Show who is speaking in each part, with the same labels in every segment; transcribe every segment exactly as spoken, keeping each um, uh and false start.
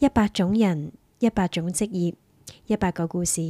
Speaker 1: 一百種人，一百種職業，一百個故事。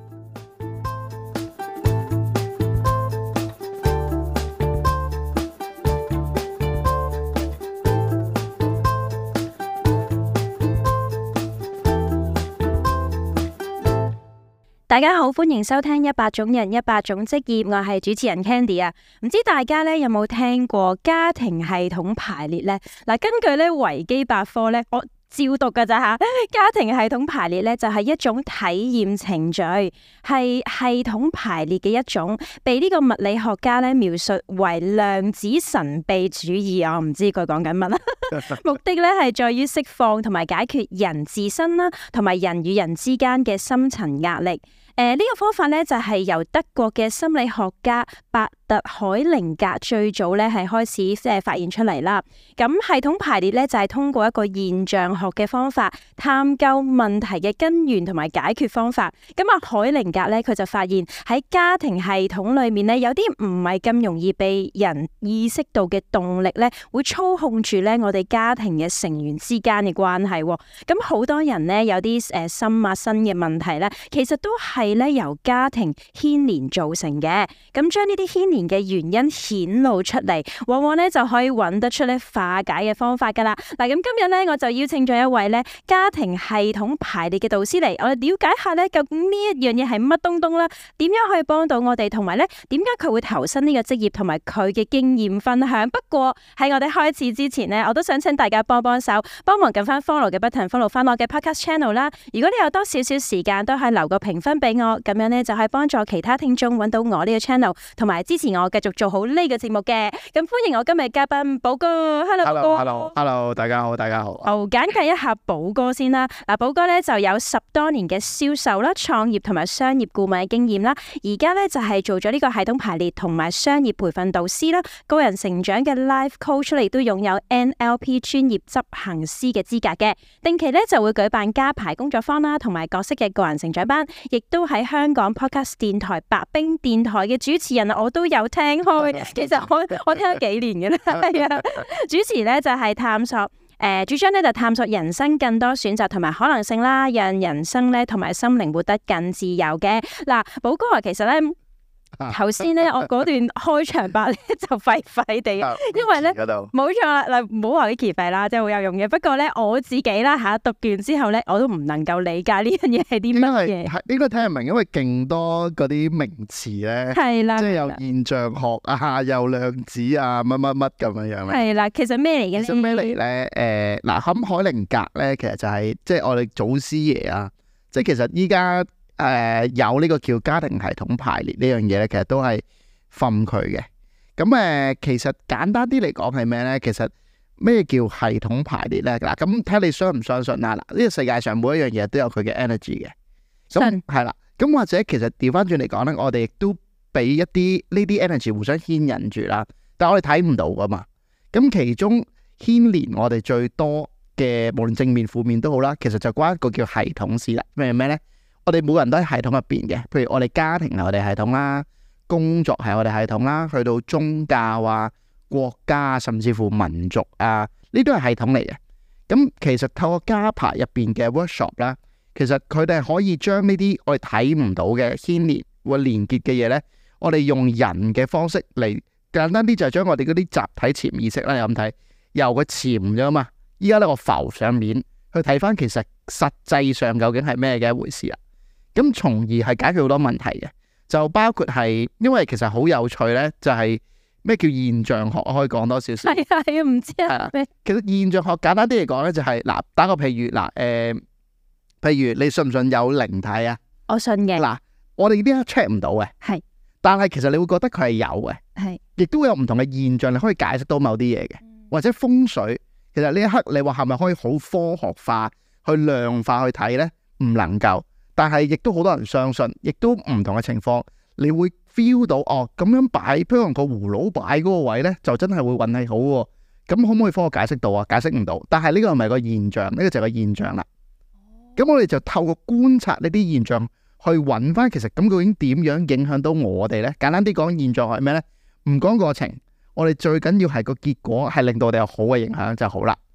Speaker 2: 大家好，歡迎收聽一百種人一百種職業，我係主持人 Candy 啊。唔知大家咧有冇聽過家庭系統排列呢？嗱，根據咧維基百科咧，我照讀噶咋吓。家庭系統排列咧就係一種體驗程序，係系統排列嘅一種，被呢個物理學家咧描述為量子神秘主義。我唔知佢講緊乜啦。目的咧係在於釋放同埋解決人自身啦，同埋人與人之間嘅深層壓力。誒、呃，呢、這個方法咧就係由德國嘅心理學家伯特海靈格最早咧係開始即係發現出嚟啦。咁系統排列咧就係通過一個現象學嘅方法，探究問題嘅根源同埋解決方法。咁啊，海靈格咧佢就發現喺家庭系統裏面咧有啲唔係咁容易被人意識到嘅動力咧，會操控住咧我哋家庭嘅成員之間嘅關係。咁好多人咧有啲誒心啊身嘅問題咧，其實都係係咧由家庭牽連造成嘅，咁將呢啲牽連嘅原因顯露出嚟，往往咧就可以揾得出咧化解嘅方法噶啦。嗱，咁今日咧我就邀請咗一位咧家庭系統排列嘅導師嚟，我哋了解下咧究竟呢一樣嘢係乜東東啦，點樣可以幫到我哋，同埋咧點解佢會投身呢個職業，同埋佢嘅經驗分享。不過喺我哋開始之前咧，我都想請大家幫幫手，幫忙撳翻 follow 嘅 button，follow 翻我嘅 podcast channel 啦。如果你有多少少時間，都係留個評分俾我，咁樣咧就係幫助其他聽眾揾到我呢個 channel， 同埋支持我繼續做好呢個節目嘅。咁歡迎我今日嘉賓寶哥 ，Hello 寶哥
Speaker 3: ，Hello Hello， 大家好，大家好。
Speaker 2: 好，簡介一下寶哥先啦。嗱，寶哥咧就有十多年嘅銷售啦、創業同埋商業顧問嘅經驗啦。而家咧就係做咗呢個系統排列同埋商業培訓導師啦，個人成長嘅 life coach 嚟，都擁有 N L P 專業執行師嘅資格嘅。定期咧就會舉辦家排工作坊啦，同埋各式嘅個人成長班，亦都喺香港 podcast 電台白兵電台嘅主持人，我都有聽開。其實我我聽咗幾年嘅啦，係啊。主持咧就係探索誒、呃，主張咧就探索人生更多選擇同埋可能性啦，讓人生咧同埋心靈活得更自由嘅。嗱，寶哥啊，其實咧。頭先咧，我嗰段開場白咧就廢廢地，因為咧冇錯啦，嗱，唔好話啲奇廢啦，真係好有用嘅。不過咧，我自己啦吓讀完之後咧，我都唔能夠理解呢樣嘢係啲乜嘢。係
Speaker 3: 應該聽唔明，因為勁多嗰啲名詞咧，係啦，即係有現象學啊，有量子啊，乜乜乜咁樣樣咧。係啦，
Speaker 2: 其實咩嚟嘅咧？
Speaker 3: 其實咩嚟咧？誒，嗱，咁海靈格咧，其實就係即係我哋祖師爺啊，即係其實依家。誒、呃，有呢個叫家庭系統排列呢樣嘢咧，其實都係訓佢嘅。咁誒、呃，其實簡單啲嚟講係咩咧？其實咩叫系統排列咧？嗱，咁睇你相唔相信啦。嗱，呢個世界上每一樣嘢都有佢嘅 energy 嘅。咁係啦。咁或者其實調翻轉嚟講咧，我哋亦都俾一啲呢啲 energy 互相牽引住啦。但係我哋睇唔到噶嘛。咁其中牽連我哋最多嘅，無論正面負面都好啦，其實就關一個叫系統事啦。咩咩咧？我哋每個人都喺系統入邊嘅，譬如我哋家庭係我哋系統啦，工作係我哋系統啦，去到宗教啊、國家甚至乎民族啊，呢都係系統嚟嘅。咁其實透過家排入邊嘅 workshop 啦，其實佢哋可以將呢啲我哋睇唔到嘅牽連或連結嘅嘢呢，我哋用人嘅方式嚟，簡單啲就係將我哋嗰啲集體潛意識啦，有咁睇，由佢潛咗嘛，依家呢個浮上面去睇翻，其實實際上究竟係咩嘅一回事啊？咁從而係解決好多問題嘅，就包括係，因為其實好有趣咧，就係、是、咩叫現象學，可以講多少少。係啊，係啊，唔知啊。其實現象學簡單啲嚟講咧，就係、是、嗱，打個譬如嗱，誒、呃，譬如你信唔信有靈體啊？我信嘅。嗱，我哋呢一刻 check 唔到嘅，係，但係其實你會覺得佢係有嘅，係，亦都會有唔同嘅現象，你可以解釋到某啲嘢嘅，或者風水，其實呢一刻你話係咪可以好科學化去量化去睇咧？唔能夠。但係亦都好多人相信，亦都唔同嘅情況，你會 feel 到哦，咁樣擺，譬如個葫蘆擺嗰個位呢，就真係會運氣好喎。咁可唔可以科學解釋到啊？解釋唔到。但係呢個唔係個現象，呢個就係個現象啦。咁我哋就透過觀察呢啲現象，去揾翻其實咁究竟點樣影響到我哋呢？簡單啲講，現象係咩呢？唔講過程，我哋最緊要係個結果係令到我哋有好嘅影響就好啦。咁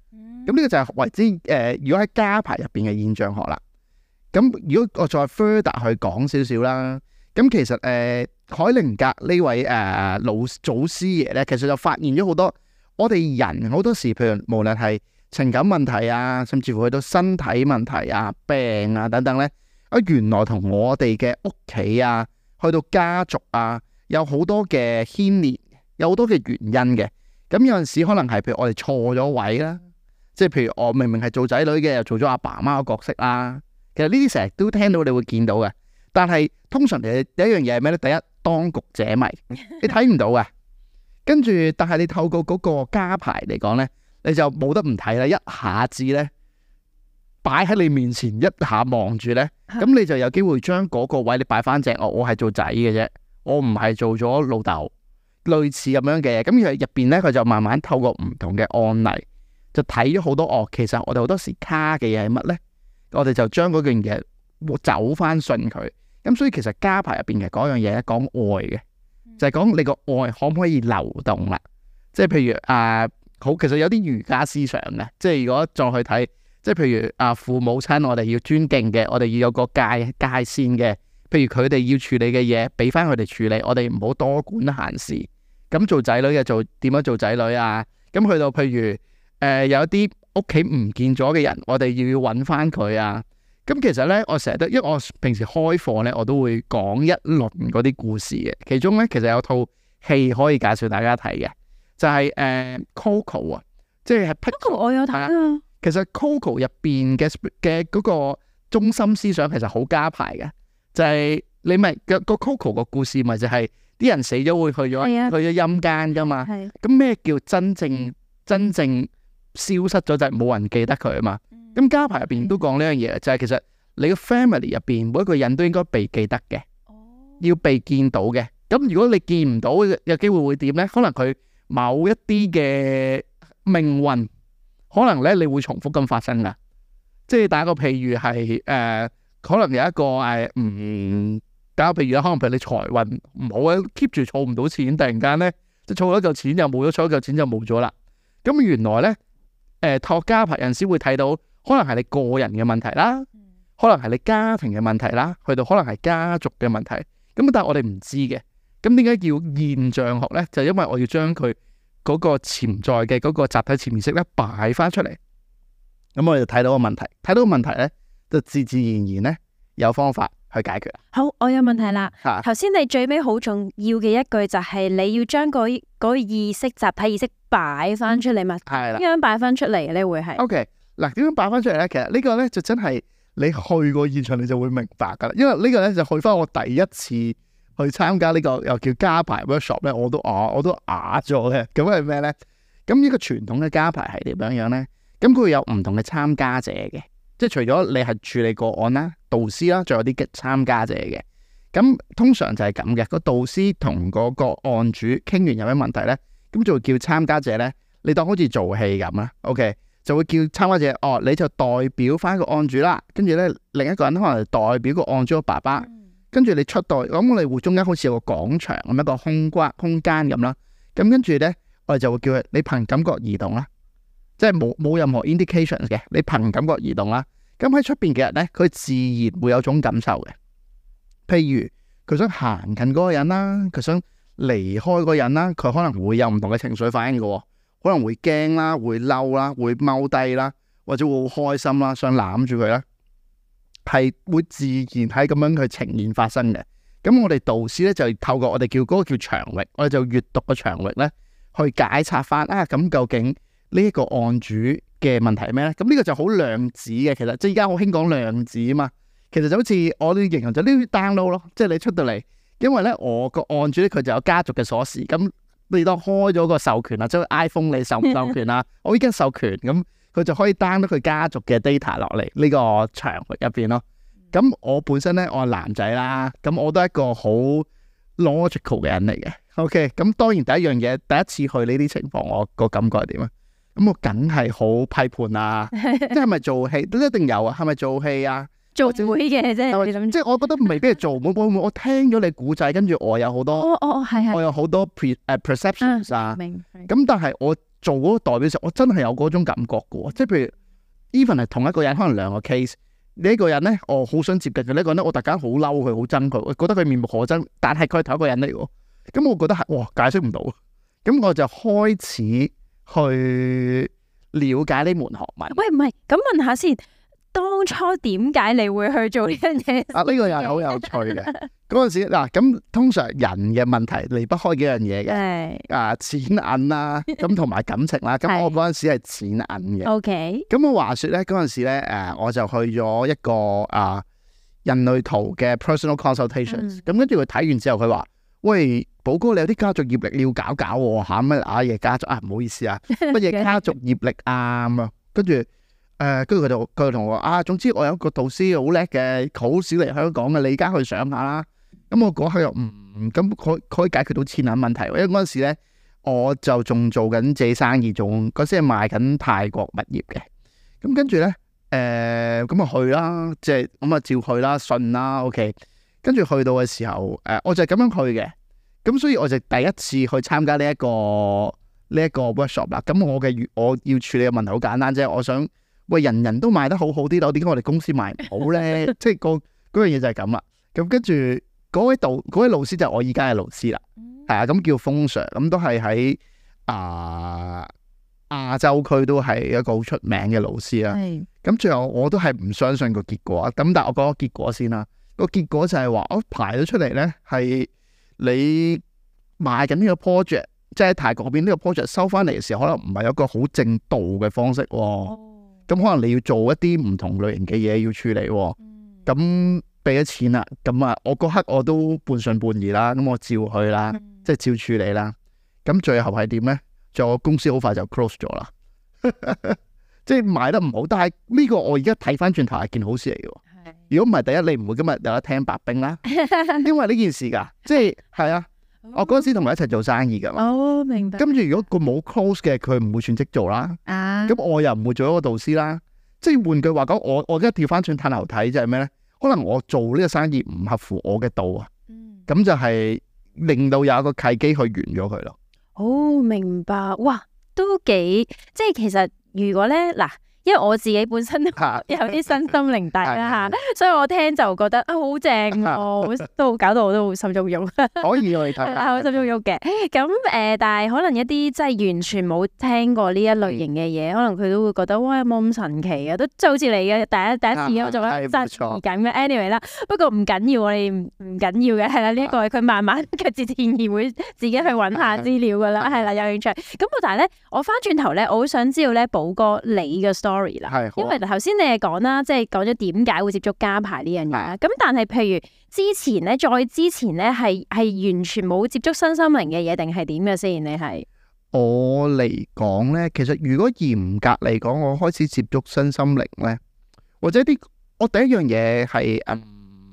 Speaker 3: 咁呢個就係為之誒、呃，如果喺家排入邊嘅現象學啦。咁如果我再 further 去講少少啦，咁其實誒、呃、海靈格呢位誒、呃、老祖師爺咧，其實就發現咗好多我哋人好多時，譬如無論係情感問題啊，甚至乎去到身體問題啊、病啊等等咧，啊原來同我哋嘅屋企啊，去到家族啊，有好多嘅牽連，有好多嘅原因嘅。咁有陣時可能係譬如我哋錯咗位啦，即係譬如我明明係做仔女嘅，又做咗阿爸媽嘅角色啦。其實呢啲成日都聽到，你會見到嘅。但係通常你第一樣嘢係咩咧？第一，當局者迷，你睇唔到嘅。跟住，但係你透過嗰個家排嚟講咧，你就冇得唔睇啦。一下子咧，擺喺你面前，一下望住咧，咁你就有機會將嗰個位你擺翻正。我我係做仔嘅啫，我唔係做咗老豆，類似咁樣嘅嘢。咁入入邊咧，佢就慢慢透過唔同嘅案例，就睇咗好多哦。其實我哋好多時卡嘅嘢係乜咧？我哋就將嗰樣嘢走翻順佢。咁所以其實家排入邊嘅嗰樣嘢講愛嘅，就係、是、講你個愛可唔可以流動啦。即係譬如啊，好，其實有啲儒家思想嘅。即係如果再去睇，即係譬如啊，父母親我哋要尊敬嘅，我哋要有個界界線嘅。譬如佢哋要處理嘅嘢，俾翻佢哋處理，我哋唔好多管閒事。咁做仔女嘅做點樣做仔女啊？咁去到譬如誒、呃、有一啲屋企唔見咗嘅人，我哋要要揾翻佢啊！咁其實咧，我成日都，因為我平時開課咧，我都會講一輪嗰啲故事嘅。其中咧，其實有套戲可以介紹大家睇嘅，就係、是、誒、呃、Coco 啊，即係
Speaker 2: Coco 我有睇啊。
Speaker 3: 其實 Coco 入邊嘅嘅嗰個中心思想其實好家排嘅，就係、是、你咪個個 Coco 個故事咪就係啲人死咗會去咗、啊、去咗陰間噶嘛。咁咩、啊、叫真正真正消失咗就係冇人記得佢啊嘛。咁家排入邊都講呢樣嘢，就係、是、其實你個 family 入邊每一個人都應該被記得嘅，要被見到嘅。咁如果你見唔到，有機會會點咧？可能佢某一啲嘅命運，可能咧你會重複咁發生噶。即係打個譬如係誒、呃，可能有一個誒唔打個譬如啦，可能譬如你財運唔好啊，keep 住儲唔到錢，突然間咧即係儲咗嚿錢又冇咗，儲咗嚿錢就冇咗啦。咁原來咧誒，託家排人先會睇到。可能係你個人嘅問題啦，可能係你家庭嘅問題啦，去到可能係家族嘅問題。咁但係我哋唔知嘅。咁點解叫現象學咧？就係、因為我要將佢嗰個潛在嘅嗰個集體潛意識咧擺翻出嚟。咁我哋就睇到個問題，睇到個問題咧，就自自然然咧有方法去解決。
Speaker 2: 好，我有問題啦。頭先、啊、你最尾好重要嘅一句就係你要將嗰嗰個意識、集體意識擺翻出嚟嘛？係啦。點樣擺翻出嚟咧？會係
Speaker 3: OK。嗱，點樣擺翻出嚟咧？其實呢個咧就真係你去過現場你就會明白噶啦。因為呢個咧就去翻我第一次去參加呢個又叫家排 workshop 咧，我都啊我都啞咗嘅。咁係咩咧？咁呢個傳統嘅家排係點樣樣咧？咁佢會有唔同嘅參加者嘅，即係除咗你係處理個案啦、導師啦，仲有啲嘅參加者嘅。咁通常就係咁嘅，個導師同嗰個案主傾完有咩問題咧，咁就會叫參加者咧，你當好似做戲咁啦。OK。就會叫參加者，哦，你就代表翻個案主啦，跟住咧另一個人可能代表個案主個爸爸，跟住你出代，咁我哋會中間好似有個廣場咁一個空關空間咁啦，咁跟住咧我哋就會叫佢，你憑感覺移動啦，即係冇冇任何 indications 嘅，你憑感覺移動啦，咁喺出邊嘅人咧，佢自然會有種感受嘅，譬如佢想行近嗰個人啦，佢想離開嗰個人啦，佢可能會有唔同嘅情緒反應嘅。可能會驚啦，會嬲啦，會踎低啦，或者會好開心啦，想攬住佢啦，係會自然喺咁樣去呈現發生嘅。咁我哋導師咧就透過我哋叫嗰個叫場域，我哋就閱讀個場域咧去解拆翻啊。咁究竟呢一個案主嘅問題係咩咧？咁呢個就好量子嘅，其實即係而家好興講量子啊嘛。其實就好似我哋形容就呢啲 download 咯，即係你出到嚟，因為咧我個案主咧佢就有家族嘅鎖匙咁。你當開咗個授權啦，即係 iPhone 你授唔授權啦？我已經授權，咁佢就可以 down 到佢家族嘅 data 落嚟呢個場域入邊咯。咁我本身咧，我係男仔啦，咁我都係一個好 logical 嘅人嚟嘅。OK，咁當然第一樣嘢，第一次去呢啲情況，我個感覺係點啊？咁我梗係好批判啊！即係咪做戲都一定有啊？係咪做戲啊？
Speaker 2: 做會嘅啫，
Speaker 3: 即係我覺得未必係做，會會我聽咗你古仔，跟住我有好多，
Speaker 2: 哦哦係係，
Speaker 3: 我有好多 pre 誒 perceptions 啊，
Speaker 2: 明。
Speaker 3: 咁但係我做嗰個代表時，我真係有嗰種感覺嘅喎。即係譬如 even 係同一個人，可能兩個 case，呢一個人咧，我好想接近佢，呢個人咧，我突然間好嬲佢，好憎佢，我覺得佢面目可憎，但係佢係同一個人嚟喎。咁我覺得係哇，解釋唔到。咁我就開始去了解呢門學問。
Speaker 2: 喂，唔係，咁問下先，當初點解你會去做呢樣嘢？
Speaker 3: 啊，呢、這個又係好有趣嘅。嗰陣時嗱，咁通常人嘅問題離不開幾樣嘢嘅，啊，錢銀啦，咁同埋感情啦。咁我嗰陣時係錢銀嘅。O K。咁我話說咧，嗰陣時咧，誒，我就去咗一個啊人類圖嘅 personal consultations。咁跟住佢睇完之後，佢話：喂，寶哥，你有啲家族業力你要搞搞喎嚇，乜啊嘢家族啊？唔好意思啊，乜嘢家族業力啊咁啊？跟住誒，跟住佢就佢同我話啊，總之我有一個導師好叻嘅，好少嚟香港嘅，你而家去上下啦。咁我嗰刻又唔咁，佢、嗯、可以解決到錢銀問題。因為嗰陣時咧，我就仲做緊自己生意，仲嗰時係賣緊泰國物業嘅。咁跟住咧，誒咁啊去啦，即係咁啊照去啦，信啦 ，OK。跟住去到嘅時候，誒、呃、我就係咁樣去嘅。咁所以我就第一次去參加呢、這、一個呢一、這個 workshop 啦。咁我嘅我要處理嘅問題好簡單啫。我想喂，人人都賣得好好啲樓，點解我哋公司賣唔好咧？即係個嗰樣嘢就係咁啦。咁跟住。嗰位導嗰位老師就係我依家嘅老師啦，係啊，咁叫風 Sir，咁都係喺啊亞洲區都係一個好出名嘅老師啦。咁最後我都係唔相信個結果，咁但係我講個結果先啦。個結果就係話我排咗出嚟咧，係你賣緊呢個 project，即係喺泰國嗰邊呢個 project 收翻嚟嘅時候，可能唔係有一個好正道嘅方式喎。咁可能你要做一啲唔同類型嘅嘢要處理喎。咁俾咗錢啦，咁啊，我嗰刻我都半信半疑啦，咁我照去啦，嗯、即係照處理啦。咁最後係點咧？就我公司好快就 close 咗啦，即係賣得唔好。但係呢個我而家睇翻轉頭係件好事嚟嘅。如果唔係，第一你唔會今日有得聽白兵啦，因為呢件事噶，即係係啊，我嗰陣時同佢一齊做生意噶嘛。哦，明白。跟住如果佢冇 close 嘅，佢唔會全職做啦。啊，咁我又唔會做一個導師啦。即係換句話講，我我而家調翻轉探頭睇就係咩咧？可能我做呢個生意唔合乎我嘅道啊，咁、嗯、就係令到有一個契機去完咗佢咯。
Speaker 2: 哦，明白，哇，都幾即係其實如果咧嗱。因為我自己本身都有啲身心靈大啦嚇，所以我聽就覺得啊好正哦，都搞到我都好心喐喐。可以我哋睇，係好心喐喐嘅。咁誒，但係可能一啲即係完全冇聽過呢一類型嘅嘢，可能佢都會覺得哇有冇咁神奇啊？都即係好似你嘅第一第一次我做得真係緊嘅。anyway 啦，不過唔緊要，我哋唔唔緊要嘅係啦。呢一個佢慢慢佢自然而會自己去揾下資料噶啦，係啦有興趣。咁但係咧，我翻轉頭咧，我好想知道咧，寶哥你嘅 story。係，因為頭先你係講啦，即係講咗點解會接觸家排呢樣嘢啦。咁但係譬如之前咧，再之前咧，係係完全冇接觸身心靈嘅嘢，定係點嘅先？你係
Speaker 3: 我嚟講咧，其實如果嚴格嚟講，我開始接觸身心靈咧，或者啲我第一樣嘢係嗯，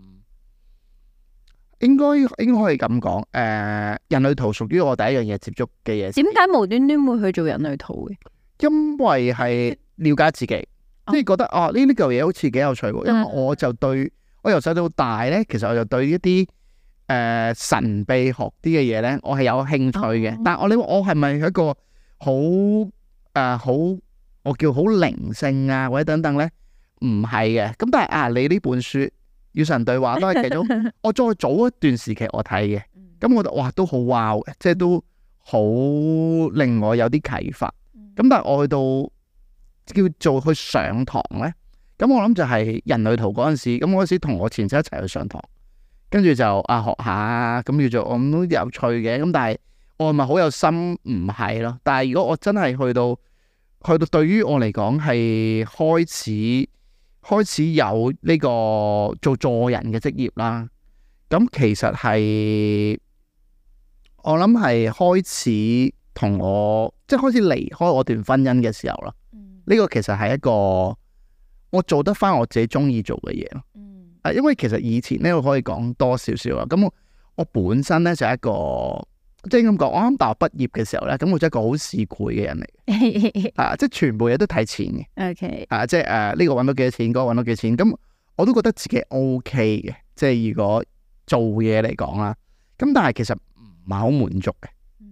Speaker 3: 應該應該可以咁講，誒、呃，人類圖屬於我第一樣嘢接觸嘅嘢。
Speaker 2: 點解無端端會去做人類圖嘅？
Speaker 3: 因為係。了解自己，即係覺得哦呢呢嚿嘢好似幾有趣喎，因為我就對我由細到大咧，其實我就對一啲誒、呃、神秘學啲嘅嘢咧，我係有興趣嘅。哦、但係我你話我係咪一個好誒好我叫好靈性啊或者等等咧？唔係嘅。咁但係啊，你呢本書《與神對話》都係其中，我再早一段時期我睇嘅，咁我覺得哇都好 wow 嘅，即係都好令我有啲啟發。咁但係我去到叫做去上堂咧，咁我諗就係人類圖嗰陣時，咁我嗰時同我前妻一齊去上堂，跟住就啊學下，咁叫做我諗都有趣嘅，咁但係我係咪好有心？唔係咯。但係如果我真係去到去到對於我嚟講係開始開始有呢個做助人嘅職業啦，咁其實係我諗係開始同我即係開始離開我段婚姻嘅時候啦。呢個其實係一個我做得翻我自己中意做嘅嘢咯。嗯，啊，因為其實以前咧，我可以講多少少啊。咁我我本身咧就係一個即係咁講，我啱大學畢業嘅時候咧，咁我真係一個好市儈嘅人嚟，啊，即係全部嘢都睇錢嘅。OK，啊，即係誒呢個揾到幾多錢，嗰個揾到幾多錢，咁我都覺得自己 OK 嘅。即係如果做嘢嚟講啦，咁但係其實唔係好滿足嘅。嗯，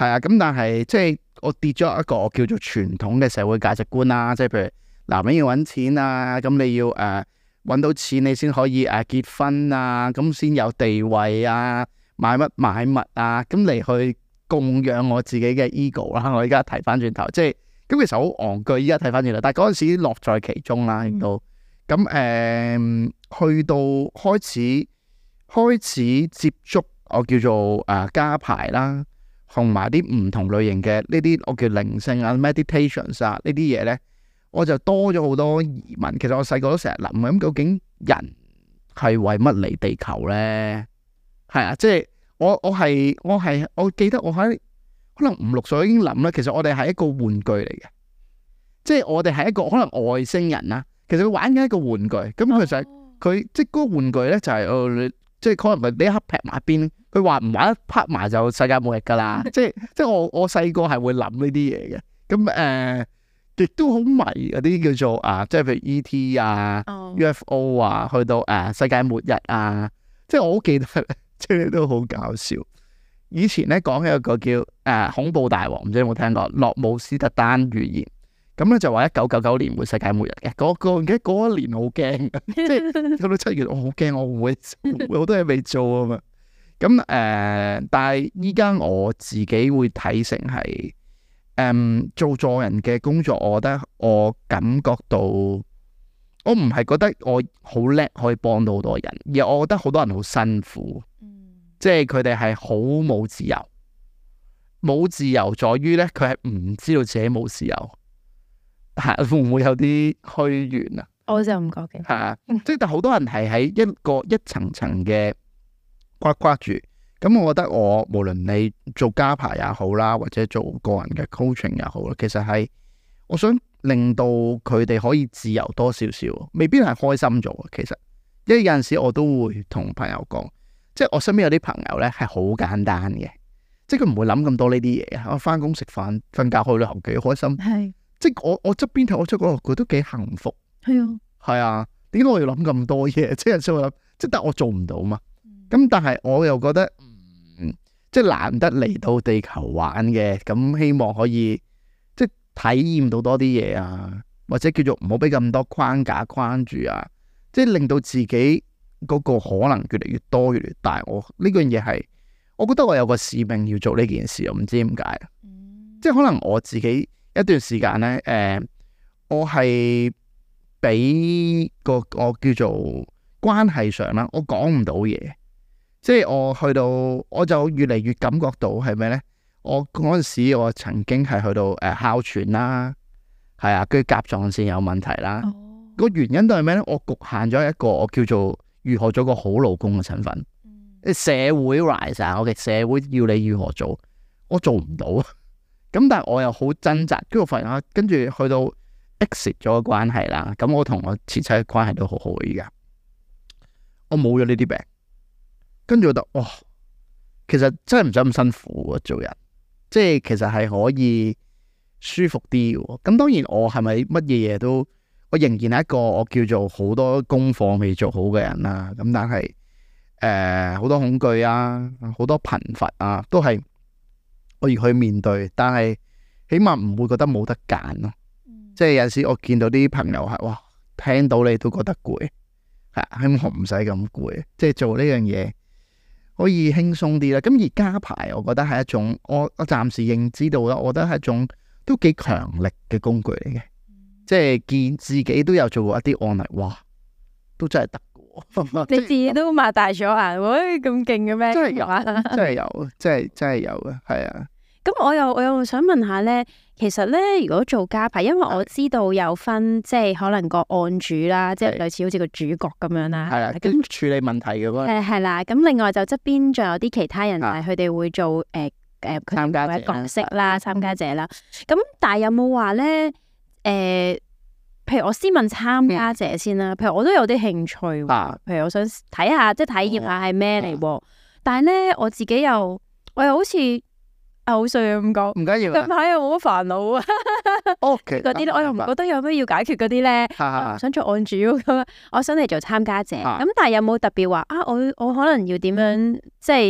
Speaker 3: 係啊，咁但係即係我跌咗一個我叫做傳統嘅社會價值觀啦，即係譬如男人要揾錢啊，咁你要誒揾、呃、到錢你先可以誒、呃、結婚啊，咁先有地位啊，買乜買物啊，咁嚟去供養我自己嘅 ego 啦。我而家睇翻轉頭，即係咁其實好戇居，依家睇翻轉頭，但係嗰陣時樂在其中啦，亦都咁誒，去到開始開始接觸我叫做誒、呃、家排啦。同埋啲唔同類型嘅呢啲我叫靈性啊 meditations 啊呢啲嘢咧，我就多咗好多疑問。其實我細個都成日諗，咁究竟人係為乜嚟地球咧？係啊，即係我我係我係我記得我喺可能五六歲已經諗啦。其實我哋係一個玩具嚟嘅，即係我哋係一個可能外星人啦。其實佢玩緊一個玩具，咁其實佢即係嗰個玩具咧就係、是、哦、呃，即係可能佢呢一刻劈埋一邊。佢話唔玩一拍埋就世界末日噶啦，即係即係我我細個係會諗呢啲嘢嘅，咁誒亦都好迷嗰啲叫做啊，即係譬如 E T 啊、oh. U F O 啊，去到誒、啊、世界末日啊，即係我好記得，即係都好搞笑。以前咧講嘅一個叫誒、啊、恐怖大王，唔知有冇聽過？諾姆斯特丹預言，咁咧就話一九九九年會世界末日嘅，嗰個記得嗰一年好驚，即係到到七月我好驚，我會會好多嘢未做啊嘛。咁誒、呃，但係依家我自己會睇成係誒、嗯、做助人嘅工作，我覺得我感覺到，我唔係覺得我好叻可以幫到好多人，而我覺得好多人好辛苦，嗯、即係佢哋係好冇自由，冇自由在於咧，佢係唔知道自己冇自由，係會唔會有啲虛幻啊？
Speaker 2: 我就唔覺嘅，
Speaker 3: 係啊，即係但好多人係喺一個一層層嘅。刮刮住，咁我覺得我無論你做家排也好啦，或者做個人嘅 coaching 也好啦，其實係我想令到佢哋可以自由多少少，未必係開心咗。其實，因為有陣時我都會同朋友講，即係我身邊有啲朋友咧係好簡單嘅，即係佢唔會諗咁多呢啲嘢。我翻工食飯、瞓覺、去旅行幾開心，係是即係我我側邊睇我出嗰個佢都幾幸福，係啊，係啊，點解我要諗咁多嘢？即係有陣時我諗，即係但我做唔到嘛。咁但係我又覺得，嗯，即係難得嚟到地球玩嘅，咁希望可以即係體驗到多啲嘢啊，或者叫做唔好俾咁多框架框住啊，即係令到自己嗰個可能越嚟越多越嚟越大。我呢樣嘢係，我覺得我有個使命要做呢件事，我唔知點解。嗯、即係可能我自己一段時間咧，誒、呃，我係俾個我叫做關係上啦，我講唔到嘢。即係我去到，我就越嚟越感覺到係咩咧？我嗰陣時我曾經係去到誒、呃、哮喘啦，係啊，跟住甲狀腺有問題啦。個、哦、原因都係咩咧？我局限咗一個我叫做如何做個好老公嘅身份。嗯、社會 rise 啊，我嘅社會要你如何做，我做唔到。咁但係我又好掙扎，跟住我發現跟住去到 exit 咗個關係啦。咁我同我前妻嘅關係都好好嘅，而家我冇咗呢啲病。跟住我覺得，哇，其實真係唔使咁辛苦啊，做人，即係其實係可以舒服啲嘅。咁當然我係咪乜嘢嘢都，我仍然係一個我叫做好多功課未做好嘅人啦。咁但係誒好多恐懼啊，好多貧乏啊，都係我要去面對。但係起碼唔會覺得冇得揀咯。嗯、即係有陣時我見到啲朋友係哇，聽到你都覺得攰，係希望唔使咁攰，即係做呢樣嘢。可以輕鬆啲啦，咁而家排我覺得係一種，我我暫時認知到啦，我覺得係一種都幾強力嘅工具嚟嘅，嗯、即係見自己都有做過一啲案例，哇，都真係得嘅。
Speaker 2: 你自己都擘大咗眼，喂，咁勁嘅咩？
Speaker 3: 真係有，真係有，真係真係有嘅，係啊。
Speaker 2: 咁我又我又想問下咧，其實咧，如果做家排，因為我知道有分，即係可能個案主啦，即係類似好似個主角咁樣啦，係啦，
Speaker 3: 跟處理問題嘅嗰個
Speaker 2: 係係啦。咁另外就側邊仲有啲其他人，係佢哋會做誒誒參加者角色啦，參加者啦。咁但係有冇話咧？誒，譬如我先問參加者先啦。譬如我都有啲興趣，譬如我想睇下，即係體驗下係咩嚟。但係咧，我自己又我又好似。好衰啊！咁講，唔緊要。近排又冇乜煩惱啊。O K，嗰啲咧，我又唔覺得有咩要解決嗰啲咧。想做案主咁，我想嚟做參加者。咁但係有冇特別話啊？我我可能要點樣，即係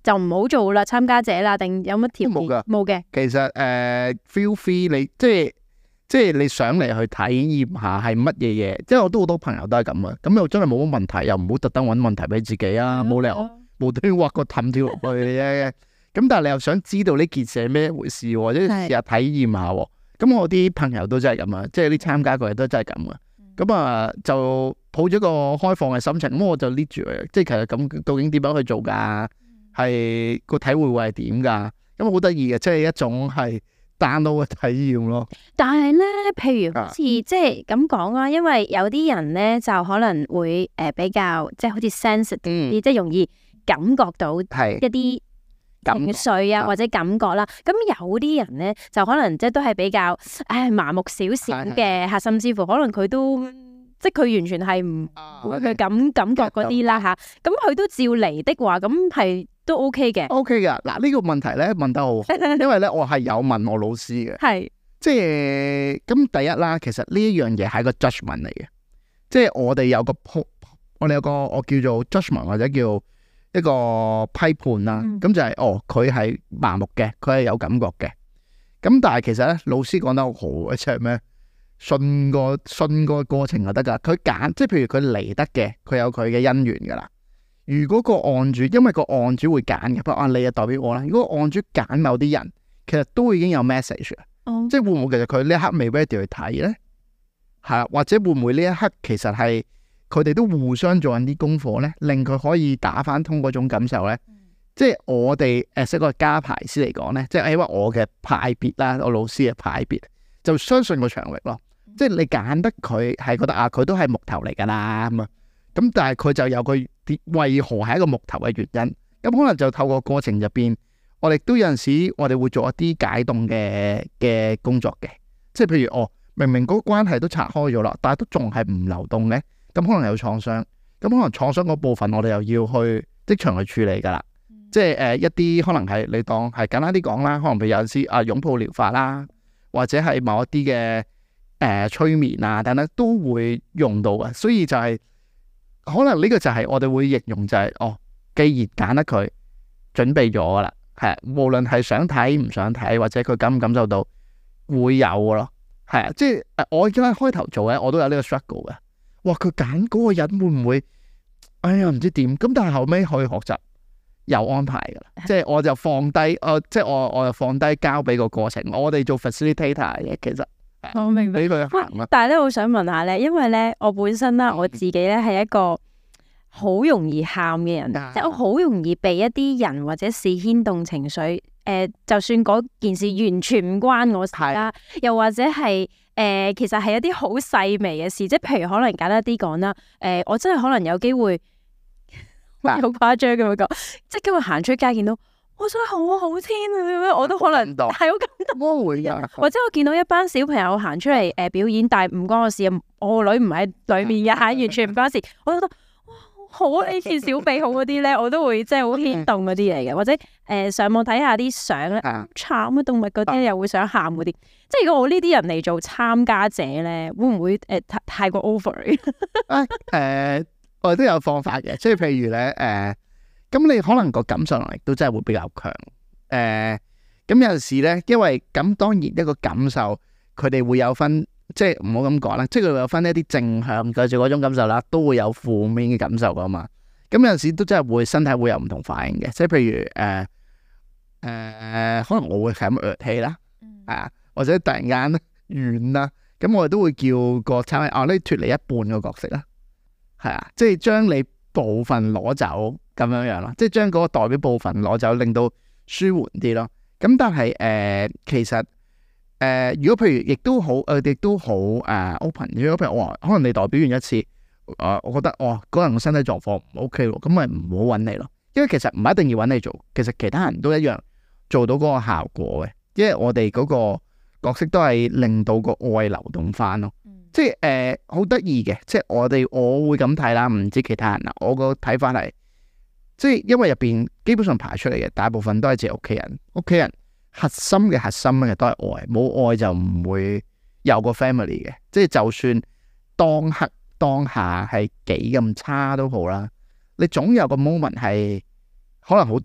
Speaker 2: 就唔好做啦，參加者啦，定有乜條件？
Speaker 3: 冇㗎，
Speaker 2: 冇嘅。
Speaker 3: 其實誒、呃、feel free 你即係即係你上嚟去體驗下係乜嘢嘢，即係我都好多朋友都係咁啊。咁又真係冇乜問題，又唔好特登揾問題俾自己啊，冇、嗯、理由無端端挖個氹跳落去嘅。咁但係你又想知道呢件事係咩回事，或者試下體驗下。咁我啲朋友都真係咁啊，即係啲參加過都真係咁啊。咁啊、嗯、就抱咗個開放嘅心情，咁我就 lead 住佢，即係其實咁究竟點樣去做噶？係個體會會係點噶？咁好得意嘅，即係一種係 download 嘅體驗咯。
Speaker 2: 但係咧，譬如好似、啊、即係咁講啊，因為有啲人咧就可能會誒、呃、比較即係好似 sensitive 啲，嗯、即係容易感覺到一啲情緒啊或者感覺啦。咁有啲人咧就可能即係都係比較誒麻木少少嘅吓，甚至乎可能佢都即係佢完全係唔會去感感覺嗰啲啦吓。咁佢都照嚟的話，咁係都 OK 嘅。OK
Speaker 3: 嘅。嗱，呢個問題咧問得好好，因為咧我係有問我老師嘅，係即係咁第一啦。其實呢一樣嘢係個 judgment 嚟嘅，即係我哋有個我哋有個我叫做 judgment 或者叫一個批判啦。咁、嗯、就係、是、哦，佢係麻木嘅，佢係有感覺嘅。咁但係其實咧，老師講得好好嘅，即係咩？信個信個過程就得噶。佢揀，即係譬如佢嚟得嘅，佢有佢嘅因緣噶啦。如果個案主，因為個案主會揀嘅，不過啊，你就代表我啦。如果案主揀某啲人，其實都已經有 message 啦。哦、即係會唔會其實佢呢一刻未 ready 去睇咧？係啊，或者會唔會呢一刻其實係佢哋都互相做緊啲功課咧，令佢可以打翻通嗰種感受咧？嗯、即係我哋誒，一個家排師嚟講咧，即係因為我嘅派別啦，我老師嘅派別就相信個場域咯。即係你揀得佢係覺得啊，佢都係木頭嚟噶啦咁啊，咁但係佢就有佢為何係一個木頭嘅原因，咁可能就透過過程入邊，我哋都有陣時我哋會做一啲解凍嘅嘅工作嘅，即係譬如哦，明明嗰個關係都拆開咗啦，但係都仲係唔流動嘅，咁可能有創傷，咁可能創傷嗰部分我哋又要去即場去處理噶啦，嗯、即係誒、呃、一啲可能係你當係簡單啲講啦，可能譬如有陣時啊擁抱療法啦，或者係某一啲嘅。誒、呃，催眠啊，等等都會用到嘅，所以就係、是、可能呢個就係我哋會形容就係、是、哦，既然揀得佢，準備咗噶啦，係無論係想睇唔想睇，或者佢感唔感受到會有嘅咯，係啊，即係誒，我而家開頭做咧，我都有呢個 struggle 嘅，哇，佢揀嗰個人會唔會，哎呀唔知點，咁但係後尾可以學習有安排噶啦，即係我就放低，誒、呃，即係我我就放低交俾個過程，我哋做 facilitator 嘅，其實。
Speaker 2: 我明白，但係咧，我想問下咧，因為咧，我本身啦，我自己咧係一個好容易喊嘅人，嗯、即係我好容易被一啲人或者事牽動情緒。誒、呃，就算嗰件事完全唔關我事啦，是又或者係誒、呃，其實係一啲好細微嘅事，即係譬如可能簡單啲講啦，誒、呃，我真係可能有機會，好誇張咁樣講，即係今日行出街見到。我想好好天啊！我都可能係好感動，會噶。或者我見到一班小朋友行出嚟誒表演，但係唔關我事啊！我個女唔喺裏面嘅吓，完全唔關事。我都覺得哇，好呢次小比好嗰啲咧，我都會即係好牽動嗰啲嚟嘅。或者誒、呃、上網睇下啲相咧，慘嘅動物嗰啲又會想喊嗰啲。即係如果我呢啲人嚟做參加者咧，會唔會誒、呃、太太過 over？ 誒、
Speaker 3: 呃，我哋都有方法嘅，即係譬如咧誒。呃咁你可能個感受能力都真係會比較強，誒、呃，咁有陣時咧，因為咁當然一個感受，佢哋會有分，即係唔好咁講啦，即係佢會有分一啲正向嘅嗰種感受啦，都會有負面嘅感受噶嘛。咁有陣時都真係會身體會有唔同反應嘅，即係譬如誒誒、呃呃，可能我會係咁噯氣啦，啊，或者突然間軟啦，咁我哋都會叫個參啊，你脫離一半個角色啦，係啊，即係將你部分攞走。咁樣樣咯，即係將嗰個代表部分攞走，令到舒緩啲咯。咁但係誒、呃，其實誒、呃，如果譬如亦都好，誒、呃，亦都好誒 open。如果譬如我話，可能你代表完一次，誒、呃，我覺得哇，嗰人個身體狀況唔 OK 咯，咁咪唔好揾你咯。因為其實唔一定要揾你做，其實其他人都一樣做到嗰個效果嘅。因為我哋嗰個角色都係令到個愛流動翻咯。嗯、即係誒，好得意嘅。即係我哋我會咁睇啦，唔知其他人啦。我個睇法係。即係因為入邊基本上排出嚟嘅大部分都係自己屋企人，屋企人核心嘅核心嘅都係愛，冇愛就唔會有個 family 嘅。即係就算當刻當下係幾咁差都好啦，你總有個 moment 係可能好短，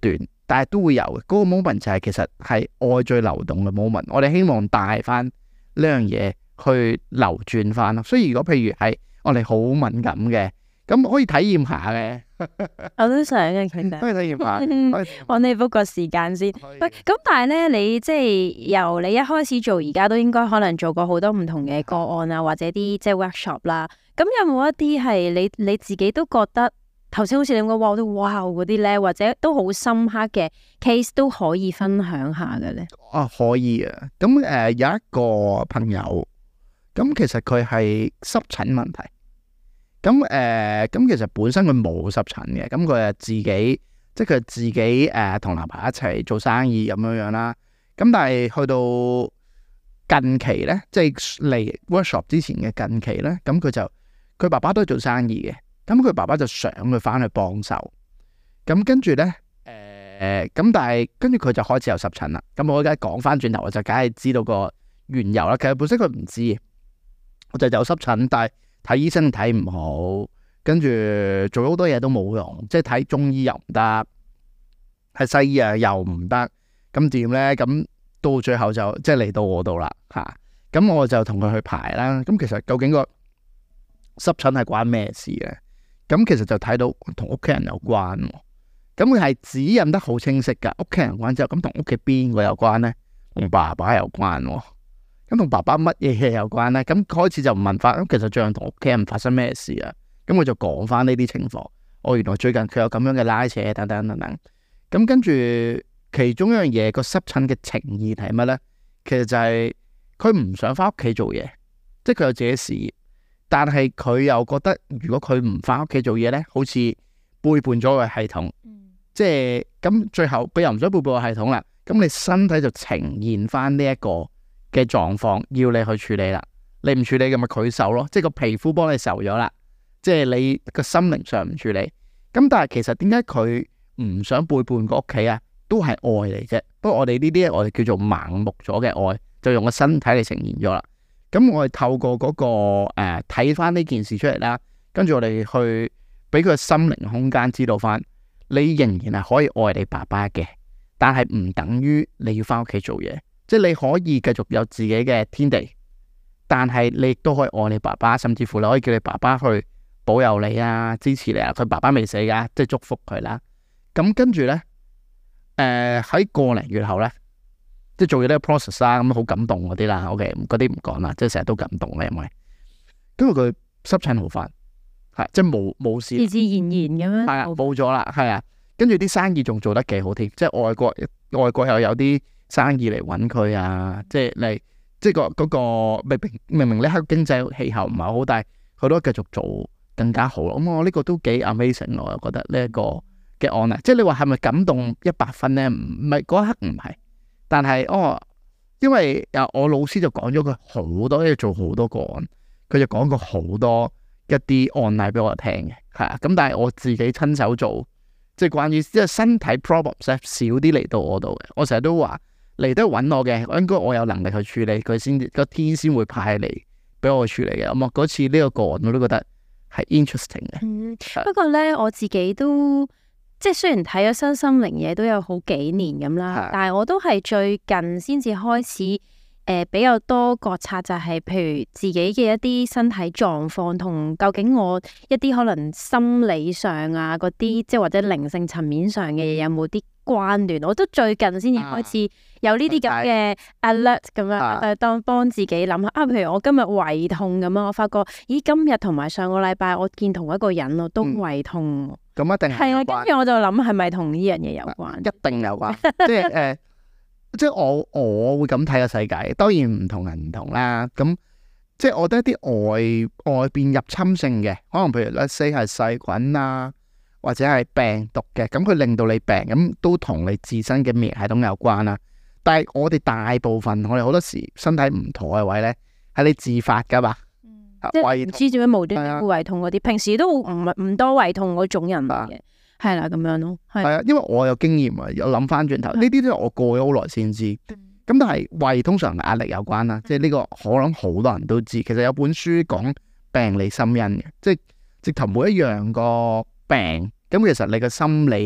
Speaker 3: 但係都會有嘅。嗰、那個 moment 就係其實係愛最流動嘅 moment。我哋希望帶翻呢樣嘢去流轉翻咯。所以如果譬如係我哋好敏感嘅，咁可以體驗下嘅。
Speaker 2: 我都想嘅，其實
Speaker 3: 可以體驗下。
Speaker 2: 我哋 book 個時間先。喂，咁但係咧，你即係由你一開始做，而家都應該可能做過好多唔同嘅個案啊，或者啲即係 workshop 啦。咁有冇一啲係你你自己都覺得頭先好似你講哇，我都哇嗰啲咧，或者都好深刻嘅 case 都可以分享下嘅咧？
Speaker 3: 啊，可以啊。咁誒、呃、有一個朋友，咁其實佢係濕疹問題。咁誒，咁、呃、其實本身佢冇濕疹嘅，咁佢係自己，即係佢自己誒同男朋友一齊做生意咁樣樣啦。咁但係去到近期咧，即係嚟 workshop 之前嘅近期咧，咁佢就佢爸爸都係做生意嘅，咁佢爸爸就想佢翻去幫手。咁跟住咧，誒、呃，咁但係跟住佢就開始有濕疹啦。咁我而家講翻轉頭，我就梗係知道個緣由啦。其實本身佢唔知，我就有濕疹，但係睇醫生睇唔好，跟住做咗好多嘢都冇用，即係睇中醫又唔得，係西醫啊又唔得，咁點咧？咁到最後就即係嚟到我度啦嚇，咁我就同佢去排啦。咁其實究竟個濕疹係關咩事咧？咁其實就睇到同屋企人有關，咁佢係指引得好清晰噶。屋企人有關之後，咁同屋企邊個有關咧？同爸爸有關。咁同爸爸乜嘢嘢有關咧？咁開始就問翻，咁其實最近同屋企人發生咩事啊？咁我就講翻呢啲情況。哦，原來最近佢有咁樣嘅拉扯等等等等。咁跟住其中一樣嘢，個濕疹嘅情意係乜咧？其實就係佢唔想翻屋企做嘢，即係佢有自己事業，但係佢又覺得如果佢唔翻屋企做嘢咧，好似背叛咗個系統。嗯、即係咁最後佢又唔想背叛個系統啦。咁你身體就呈現翻呢一個嘅狀況，要你去處理啦。你唔處理嘅咪佢受咯，即係個皮膚幫你受咗啦。即係你個心靈上唔處理。咁但係其實點解佢唔想背叛個屋企啊？都係愛嚟啫。不過我哋呢啲我哋叫做盲目咗嘅愛，就用個身體嚟呈現咗啦。咁我哋透過嗰、那個誒睇翻呢件事出嚟啦，跟住我哋去俾佢心靈空間知道翻，你仍然係可以愛你爸爸嘅，但係唔等於你要翻屋企做嘢。即係你可以繼續有自己嘅天地，但係你亦都可以愛你爸爸，甚至乎你可以叫你爸爸去保佑你啊，支持你啊。佢爸爸未死噶，即係祝福佢啦。咁跟住咧，誒、呃、喺個零月後咧，即係做咗呢個 process 啦，咁好感動嗰啲啦。OK，嗰啲唔講啦，即係成日都感動咧，因為跟住佢濕疹好翻，係即係冇冇事，
Speaker 2: 自自然然咁樣，
Speaker 3: 係啊，冇咗啦，係啊。跟住啲生意仲做得幾好添，即係外國外國又有啲生意嚟揾佢啊，即係嚟，即係個嗰個明明明明呢刻經濟氣候唔係好，但係佢都繼續做更加好咯。咁我呢個都幾 amazing，我又覺得呢一個嘅案例，即係你話係咪感動一百分咧？唔唔係嗰一刻唔係，但係哦，因為啊我老師就講咗佢好多，要做好多個案，佢就講過好多一啲案例俾我聽嘅，係啊。咁但係我自己親手做，即係關於即係身體 problems 少啲嚟到我度嘅，我成日都話。嚟都揾我嘅，應該我有能力去處理佢先，個天先會派嚟俾我去處理嘅。咁啊，嗰次呢個個案我都覺得係 interesting 嘅。嗯，
Speaker 2: 是不過咧我自己都即係雖然睇咗身心靈嘢都有好幾年咁啦，是但係我都係最近先至開始誒、呃、比較多覺察，就係譬如自己嘅一啲身體狀況同究竟我一啲可能心理上啊嗰啲，即係或者靈性層面上嘅嘢有冇啲關聯？我都最近先至開始有呢啲咁嘅 alert 咁樣，誒、啊、當幫自己諗下啊。譬如我今日胃痛咁啊，我發覺咦今日同埋上個禮拜我見同一個人我都胃痛，
Speaker 3: 咁、嗯、一定係
Speaker 2: 啊。跟住我就諗係咪同呢樣嘢有關？一
Speaker 3: 定有關，即係誒、呃，即係我我會咁睇個世界。當然唔同人唔同啦。咁即係我覺得一啲外外邊入侵性嘅，可能譬如 let's say 係細菌啊。或者係病毒嘅，咁佢令到你病，咁都同你自身嘅免疫系統有關啦。但係我哋大部分，我哋好多時身體唔妥嘅位咧，係你自發噶嘛。嗯，
Speaker 2: 即係唔知做咩無端端會胃痛嗰啲，平時都唔唔多胃痛嗰種人嚟嘅，係啦咁樣咯。係啊，
Speaker 3: 因為我有經驗啊，有諗翻轉頭，呢啲都係我過咗好耐先知。咁但係胃通常壓力有關啦，即係呢個我諗好多人都知。其實有本書講病理心因嘅，即係直頭每一樣個病，咁其實你嘅心理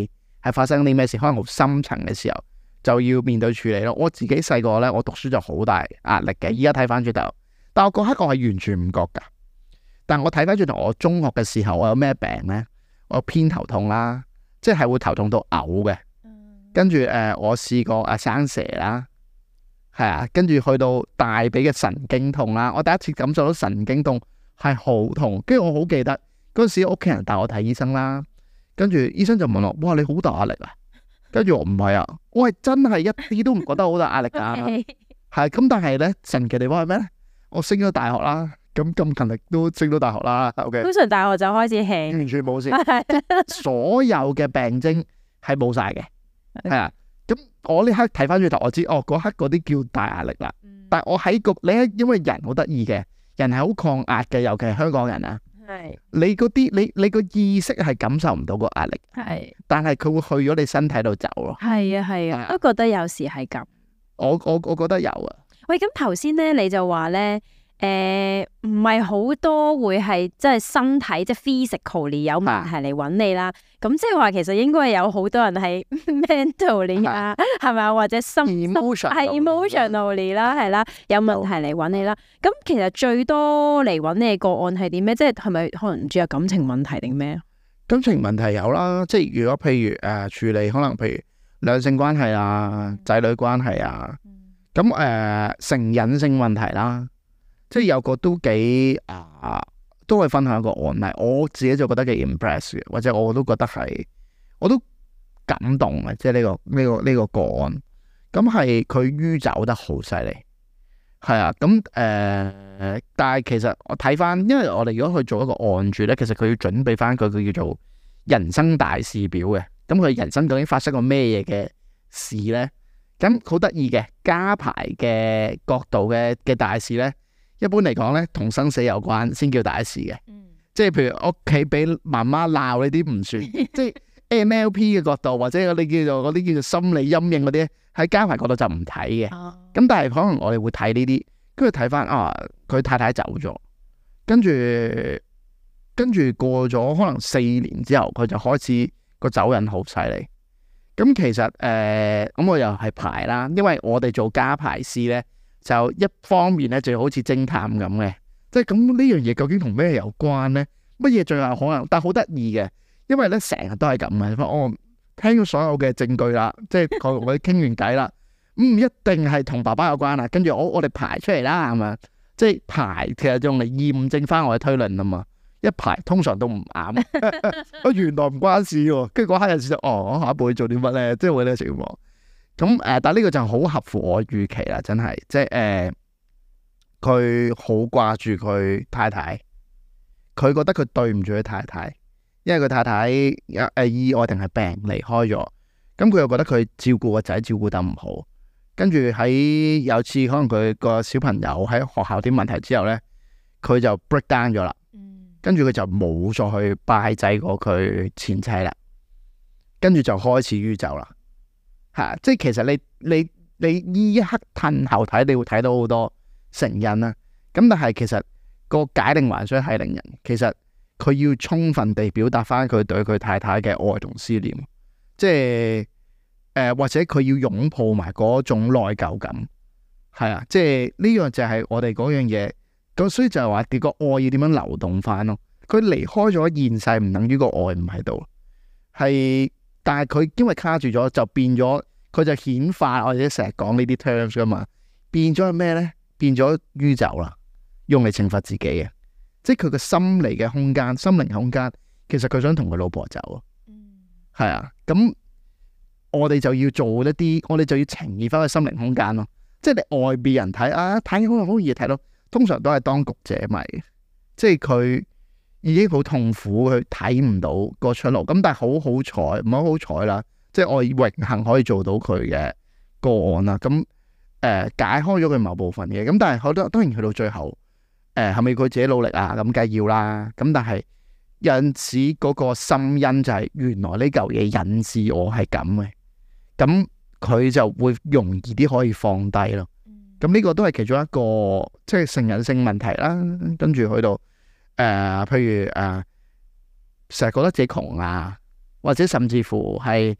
Speaker 3: 係發生啲咩事，可能好深層嘅時候就要面對處理咯。我自己細個咧，我讀書就好大壓力嘅，依家睇翻轉頭，但我嗰刻我係完全唔覺噶。但我睇翻轉頭，我中學嘅時候我有咩病咧？我有偏頭痛啦，即係會頭痛到嘔嘅。跟住誒，我試過誒生蛇啦，係啊，跟住去到大髀嘅神經痛啦。我第一次感受到神經痛係好痛，跟住我好記得嗰陣時屋企人帶我睇醫生啦，跟住醫生就問我：哇，你好大壓力啊？跟住我唔係啊，我係真係一啲都唔覺得好大壓力噶。係咁，但係咧神奇地方係咩咧？我升咗大學啦，咁咁勤力都升到大學啦。OK，通
Speaker 2: 常大學就開始輕，
Speaker 3: 完全冇事，所有嘅病徵係冇晒嘅。係啊，咁我呢刻睇翻轉頭，我知哦，嗰刻嗰啲叫大壓力啦。嗯、但係我喺個你因為人好得意嘅，人係好抗壓嘅，尤其係香港人啊。係你嗰啲你你個意識係感受唔到個壓力，係，但係佢會去咗你身體度走咯。係啊係啊，我都覺得有時係咁。我我我覺得有啊。
Speaker 2: 喂，咁頭先咧你就話咧。誒，唔係好多會係即係身體即係 physically 有問題嚟揾你啦，咁即係話其實應該有好多人係 mentally 啊，係咪啊？或者心係 emotionally 啦，係啦，有問題嚟揾你啦。咁其實最多嚟揾你嘅個案係點咩？即係係咪可能唔知有感情問題定咩啊？
Speaker 3: 感情問題有啦，即係如果譬如誒、呃、處理可能譬如兩性關係啊、仔女關係啊，咁誒、呃、成癮性問題啦。即係有個都幾啊，都可以分享一個案例，我自己就覺得幾 impress 嘅，或者我都覺得係，我都感動嘅，即係呢個呢個呢個個案，咁係佢酗酒得好犀利，係啊，咁誒、呃，但係其實我睇翻，因為我哋如果去做一個案主咧，其實佢要準備翻佢佢叫做人生大事表嘅，咁佢人生究竟發生過咩嘢嘅事咧？咁好得意嘅家排嘅角度嘅嘅大事咧。一般嚟講咧，同生死有關先叫大事嘅，嗯、即係譬如屋企俾媽媽鬧呢啲唔算，即係 M L P 嘅角度或者你叫做嗰啲叫做心理陰影嗰啲，喺家排角度就唔睇嘅。咁、哦、但係可能我哋會睇呢啲，跟住睇翻啊，佢太太走咗，跟住跟住過咗可能四年之後，佢就開始個走癮好犀利。咁其實誒，咁、呃、我又係排啦，因為我哋做家排師咧。就一方面咧，就好似偵探咁嘅，即係咁呢樣嘢究竟同咩有關咧？乜嘢最有可能？但係好得意嘅，因為咧成日都係咁嘅。我聽咗所有嘅證據啦，即係同我哋傾完偈啦，唔一定係同爸爸有關啊。跟住我我哋排出嚟啦，係咪？即係排其實用嚟驗證翻我嘅推論啊嘛。一排通常都唔啱，原來唔關事喎。跟住嗰刻有時就哦，我下一步要做啲乜咧？即係會呢個情況。咁誒、呃，但係呢個就好合乎我預期啦，真係，即係誒，佢好掛住佢太太，佢覺得佢對唔住佢太太，因為佢太太有誒意外定係病離開咗，咁佢又覺得佢照顧個仔照顧得唔好，跟住喺有次可能佢個小朋友喺學校啲問題之後咧，佢就 break down 咗啦，跟住佢就冇再去拜祭過佢前妻啦，跟住就開始酗酒啦。係、啊，即係其實你你你呢一刻褪後睇，你會睇到好多成因啦。咁但係其實個解鈴還須繫鈴人，其實佢要充分地表達翻佢對佢太太嘅愛同思念，即係誒、呃、或者佢要擁抱埋嗰種內疚感。係啊，即係呢樣就係我哋嗰樣嘢。咁所以就係話，個愛要點樣流動翻咯？佢離開咗現世，唔等於個愛唔喺度，係。但係佢因為卡住咗，就變咗，佢就顯化，我哋成日講呢啲 terms 噶嘛，變咗係咩咧？變咗酗酒啦，用嚟懲罰自己嘅，即係佢個心理嘅空間、心靈空間，其實佢想同佢老婆走啊。嗯，係啊，咁我哋就要做一啲，我哋就要呈現翻個心靈空間咯。即係你外邊人睇啊，睇好好易睇到，通常都係當局者迷，即係佢。已經好痛苦，佢睇唔到個出路。咁但係好好彩，唔好好彩啦。即係我榮幸可以做到佢嘅個案啦。咁誒、呃、解開咗佢某部分嘅。咁但係好多當然去到最後，誒係咪佢自己努力啊？咁梗係要啦。咁但係有陣時嗰個心因就係原來呢嚿嘢引致我係咁嘅。咁佢就會容易啲可以放低咯。咁呢個都係其中一個即係成癮性問題啦。跟住去到。誒、呃，譬如誒，成、呃、日覺得自己窮啊，或者甚至乎係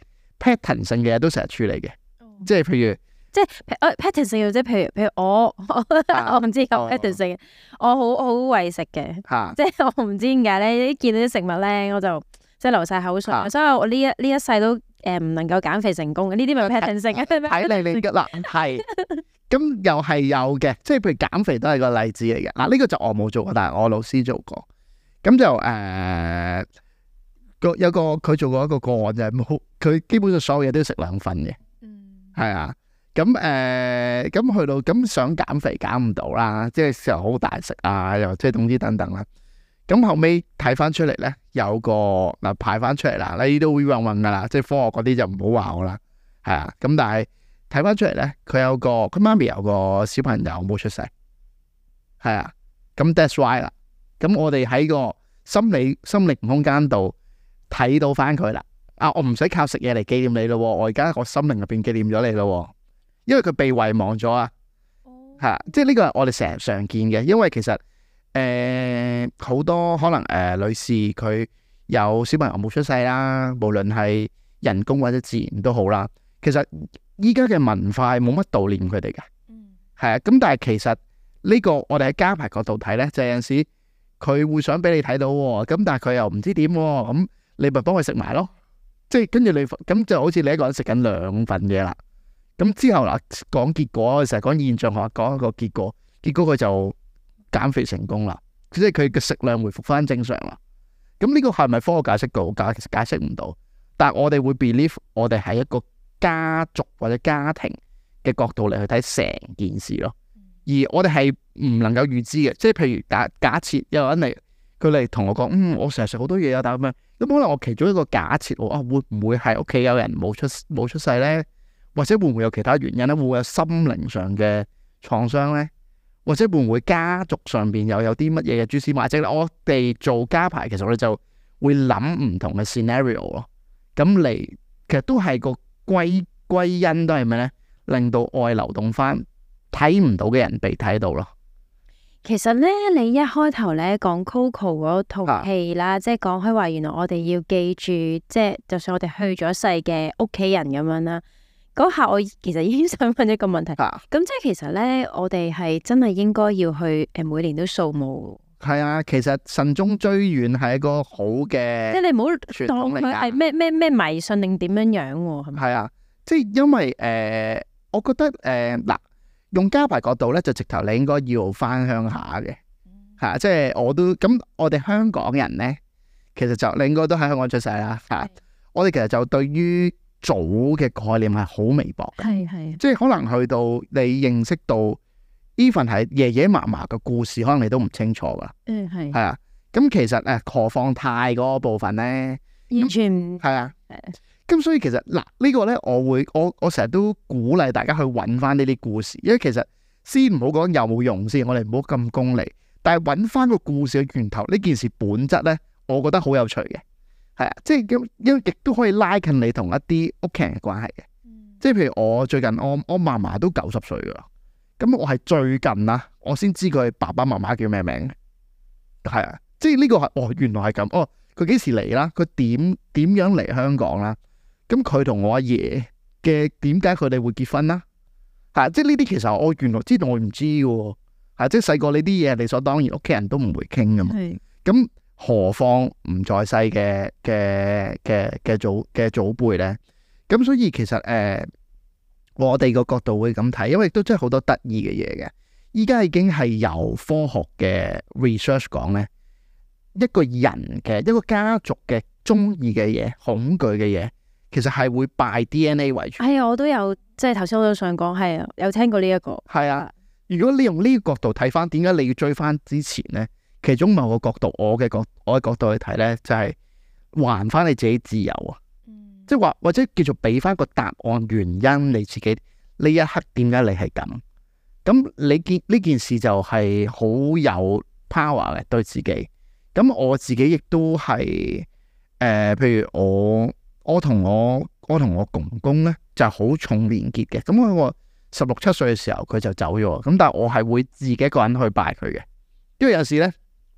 Speaker 3: pattern 性嘅嘢都成日處理嘅，即係譬如。
Speaker 2: 即係 pattern 性，即係譬如譬如我我唔知講 pattern 性，我好好為食嘅，即係我唔知點解咧，一見到啲食物咧，我就即係流晒口水，所以我呢一呢一世都誒唔能夠減肥成功嘅，呢啲咪 pattern 性嘅。
Speaker 3: 睇嚟你嗱係，咁又係有嘅，即係譬如減肥都係個例子嚟嘅。嗱呢個就我冇做過，但係我老師做過，咁就誒個有個佢做過一個個案就係冇，佢基本上所有嘢都要食兩份嘅，係啊。咁誒，咁、呃、去到咁想減肥減唔到啦，即係時候好大食啊，又即係總之等等啦。咁後尾睇翻出嚟咧，有個嗱排翻出嚟啦，呢啲都會混混噶啦，即係科學嗰啲就唔好話我啦，係啊。咁但係睇翻出嚟咧，佢有個佢媽咪有個小朋友冇出世，係啊。咁 that's why 啦。咁我哋喺個心理心靈空間度睇到翻佢啦。啊，我唔使靠食嘢嚟紀念你咯，我而家個心靈入邊紀念咗你咯。因為佢被遺忘咗啊，係啊，即係呢個係我哋成日常見嘅。因為其實誒好、呃、多可能誒、呃、女士佢有小朋友冇出世啦，無論係人工或者自然都好啦。其實依家嘅文化冇乜悼念佢哋嘅，係啊。咁但係其實呢個我哋喺家排角度睇咧，就有陣時佢會想俾你睇到，咁但係佢又唔知點，咁你咪幫佢食埋咯。即係跟住你咁就好似你一個人食緊兩份嘢啦。咁之後嗱，講結果，成日講現象學，講一個結果，結果佢就減肥成功啦，即係佢嘅食量回復翻正常啦。咁呢個係咪科學解釋到？解解釋唔到。但係我哋會 believe 我哋係一個家族或者家庭嘅角度嚟去睇成件事咯。而我哋係唔能夠預知嘅，即係譬如假假設有人嚟，佢嚟同我講，嗯，我成日食好多嘢啊，但係咁樣，咁可能我其中一個假設，我啊會唔會係屋企有人冇出冇出世咧？或者會唔會有其他原因咧？會唔會有心靈上嘅創傷咧？或者會唔會家族上邊又有啲乜嘢嘅蛛絲馬跡咧？我哋做家排，其實我哋就會諗唔同嘅 scenario 咯。咁嚟，其實都係個歸歸因都係咩咧？令到愛流動翻，睇唔到嘅人被睇到咯。
Speaker 2: 其實咧，你一開頭咧講 Coco 嗰套戲啦，啊、即係講開話，原來我哋要記住，即係就算我哋去咗世嘅屋企人咁樣啦。嗰下我其實已經想問一個問題，咁、啊、即係其實咧，我哋係真係應該要去誒，每年都掃墓。係
Speaker 3: 啊，其實慎終追遠係一個好嘅，
Speaker 2: 即係你唔好當佢係咩咩咩迷信定點樣樣喎，係咪？係
Speaker 3: 啊，即係因為誒、呃，我覺得誒嗱、呃，用家排角度咧，就直頭你應該要翻鄉下嘅，係、嗯、啊，即係我都咁，我哋香港人咧，其實就你應該都喺香港出世啦，係、啊，我哋其實就對於祖嘅概念係好微薄嘅，係係，即係可能去到你認識到 even 係爺爺嫲嫲嘅故事，可能你都唔清楚噶，嗯係，係啊，咁其實誒，何況太嗰個部分咧，
Speaker 2: 完全唔
Speaker 3: 係啊，咁所以其實嗱、這個、呢個咧，我會我我成日都鼓勵大家去揾翻呢啲故事，因為其實先唔好講有冇用先，我哋唔好咁功利，但係揾翻個故事嘅源頭，呢件事本質咧，我覺得好有趣嘅。係啊，即係咁，因為亦都可以拉近你同一啲屋企人嘅關係嘅。嗯、即係譬如我最近我我嫲嫲都九十歲噶啦，咁我係最近啦，我先知佢爸爸媽媽叫咩名。係啊，即係呢個係哦，原來係咁哦。佢幾時嚟啦？佢點點樣嚟香港啦？咁佢同我阿爺嘅點解佢哋會結婚啦？係啊，即係呢啲其實我原來知道我唔知嘅喎。係即係細個呢啲嘢理所當然，屋企人都唔會傾噶嘛。咁是何況唔在世嘅嘅嘅嘅祖嘅祖輩咧？咁所以其實誒、呃，我哋個角度會咁睇，因為都真係好多得意嘅嘢嘅。依家已經係由科學嘅 research 講咧，一個人嘅一個家族嘅中意嘅嘢、恐懼嘅嘢，其實係會拜 D N A 為主。係啊，
Speaker 2: 我都有，即係頭先我都想講，係啊，有聽過呢、這、一個。係啊，
Speaker 3: 如果你用呢個角度睇翻，點解你要追翻之前咧？其中某個角度，我嘅角我嘅角度去睇咧，就係、是、還翻你自己自由啊！嗯、即係話或者叫做俾翻個答案原因，你自己呢一刻點解你係咁？咁你見呢件事就係好有 power 嘅對自己。咁我自己亦都係誒、呃，譬如我我同我我同我公公咧就係、是、好重連結嘅。咁我我十六七歲嘅時候佢就走咗，咁但係我係會自己一個人去拜佢嘅，因為有時咧。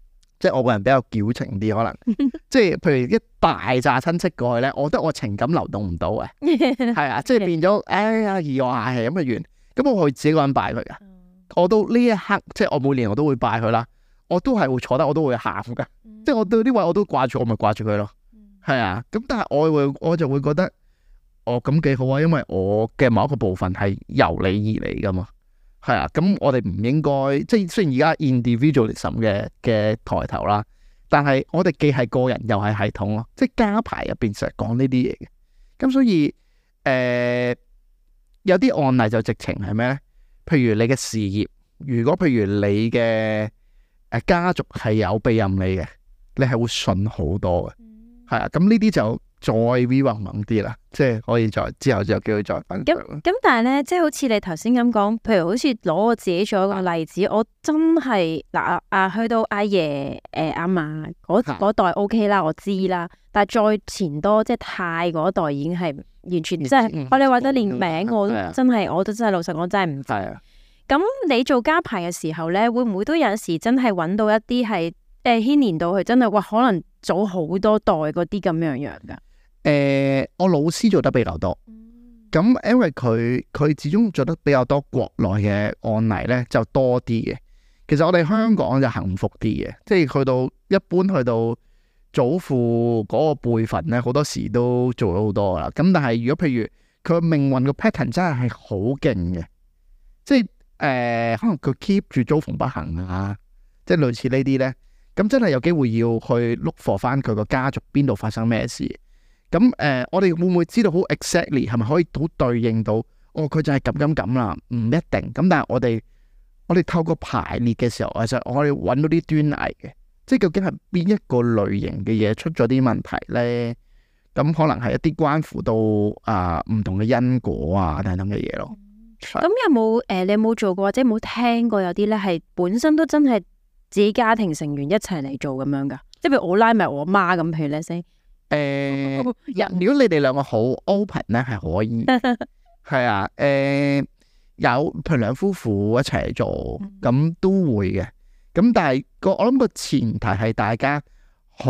Speaker 3: 即係我個人比較矯情啲，可能即係譬如一大紮親戚過去咧，我覺得我情感流動唔到嘅，係啊，即係變咗哎呀，兒我係咁嘅完，咁我會自己個人拜佢噶。我到呢一刻，即係我每年我都會拜佢啦，我都係會坐得，我都會喊噶，即係我對呢位我都掛住，我咪掛住佢咯，係啊。咁但係我會我就會覺得，哦咁幾好啊，因為我嘅某一個部分係由你而嚟噶嘛。係啊，咁我哋唔應該，即係雖然而家 individualism 嘅嘅抬頭啦，但係我哋既係個人又係系統咯，即係家排入邊成日講呢啲嘢嘅。咁所以誒、呃、有啲案例就直情係咩咧？譬如你嘅事業，如果譬如你嘅誒家族係有庇蔭你嘅，你係會順好多嘅。係啊，咁呢啲就再 v 宏猛啲啦，即係可以再之後就叫佢再分享。
Speaker 2: 咁咁，但係咧，即係好似你頭先咁講，譬如好似攞我自己做一個例子，啊、我真係嗱啊啊，去到阿爺誒阿嫲嗰嗰代 O K 啦，我知啦。但係再前多，即係太嗰代已經係完全即係我哋話得連名我都真係，我都真係老實講真係唔知。咁你做家排嘅時候咧，會唔會都有陣時真係揾到一啲係誒牽連到佢真係哇，可能早好多代嗰啲咁樣樣噶？
Speaker 3: 誒、呃，我老師做得比較多，咁、嗯、因為佢佢始終做得比較多國內嘅案例咧，就多啲嘅。其實我哋香港就幸福啲嘅，即係去到一般去到祖父嗰個輩份咧，好多時都做咗好多啦。咁但係如果譬如佢命運個 pattern 真係係好勁嘅，即係誒、呃、可能佢 keep 住遭逢不幸啊，即係類似呢啲咧，咁真係有機會要去 look for 翻佢個家族邊度發生咩事。咁誒、呃，我哋會唔會知道好 exactly 係咪可以好對應到？哦，佢就係咁咁咁啦，唔一定。咁但係我哋我哋透過排列嘅時候，其實我哋揾到啲端倪嘅，即係究竟係邊一個類型嘅嘢出咗啲問題咧？咁可能係一啲關乎到啊唔、呃、同嘅因果啊等等嘅嘢咯。咁、
Speaker 2: 嗯、有冇誒、呃？你有冇做過或者冇聽過有啲咧係本身都真係自己家庭成員一齊嚟做咁樣噶？即係譬如我拉埋我媽咁，譬如咧先。
Speaker 3: 誒、呃，如果你哋兩個好 open 咧，係可以，係啊，誒、呃，有譬如兩夫婦一齊嚟做，咁都會嘅。咁但係個我諗個前提係大家好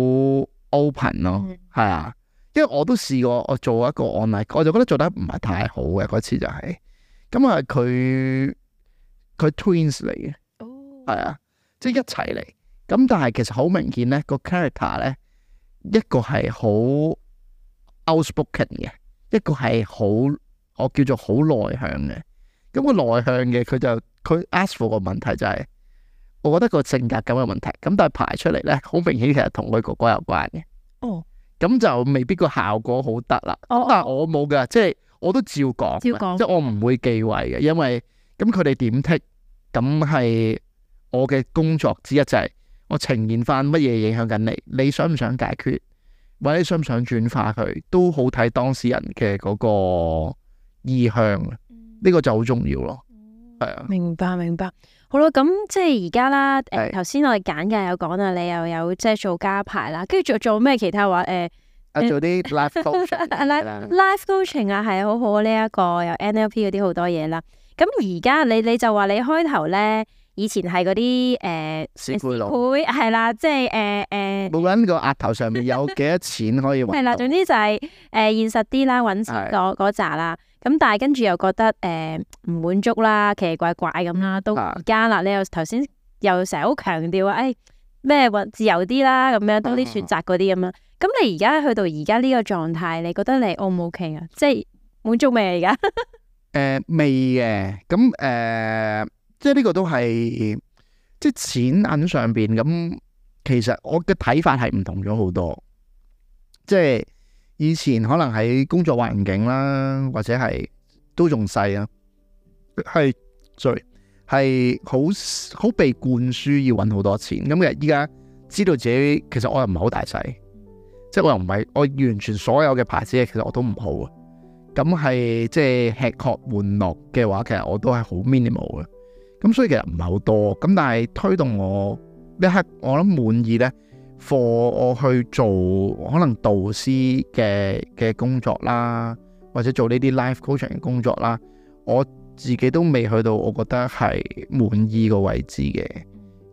Speaker 3: open 咯，係啊，因為我都試過我做一個案例，我就覺得做得唔係太好嘅嗰次就係、是，咁啊佢佢 twins 嚟嘅，係啊，即係一齊嚟，咁但係其實好明顯咧個 character 咧。一個係好 outspoken 嘅，一個係好我叫做好內向嘅。咁個內向嘅佢就佢 ask for 個問題就係、是，我覺得個性格咁嘅問題。咁但係排出嚟咧，好明顯其實同佢哥哥有關嘅。哦，咁就未必個效果好得啦。哦，但係我冇噶，即係我都照講，照講，即係我唔會忌諱嘅，因為咁佢哋點剔，咁係我嘅工作之一就係、是。我呈現翻乜嘢影響緊你，你想唔想解決，或者你想唔想轉化佢，都好睇當事人嘅嗰個意向，呢、嗯、個就好重要咯。係啊，明白明白。好啦，咁即係而家啦。誒，頭先我哋簡介有講啦，你又有即係做家排啦，跟住做做咩其他話誒？啊，做啲 life coaching，life coaching 啊，係好好呢一個有 N L P 嗰啲好多嘢啦。咁而家你你就話你開頭咧。以前係嗰啲誒，師妹係啦，即係誒誒，冇揾個額頭上面有幾多錢可以揾。係啦，總之就係、是、誒、呃、現實啲啦，揾錢嗰嗰扎啦。咁但係跟住又覺得誒唔、呃、滿足啦，奇奇怪怪咁啦。到而家啦，你又頭先又成日好強調啊，誒咩揾自由啲啦，咁樣多啲選擇嗰啲咁樣。咁你而家去到而家呢個狀態，你覺得你 O 唔 OK 啊？即係滿足未啊？而家誒未嘅，咁誒。呃即係呢個都係，即係錢銀上邊咁，其實我嘅睇法係唔同咗好多。即係以前可能喺工作環境啦，或者係都仲細啊，係，sorry，係好好被灌輸要搵好多錢。咁其實依家知道自己，其實我又唔係好大細，即係我又唔係我完全所有嘅牌子，其實我都唔好啊。咁係即係吃喝玩樂嘅話，其實我都係好 minimal 嘅。咁所以其實唔係好多，咁但係推動我呢刻我諗滿意咧，for 我去做可能導師嘅嘅工作啦，或者做呢啲 life coaching 嘅工作啦，我自己都未去到我覺得係滿意個位置嘅。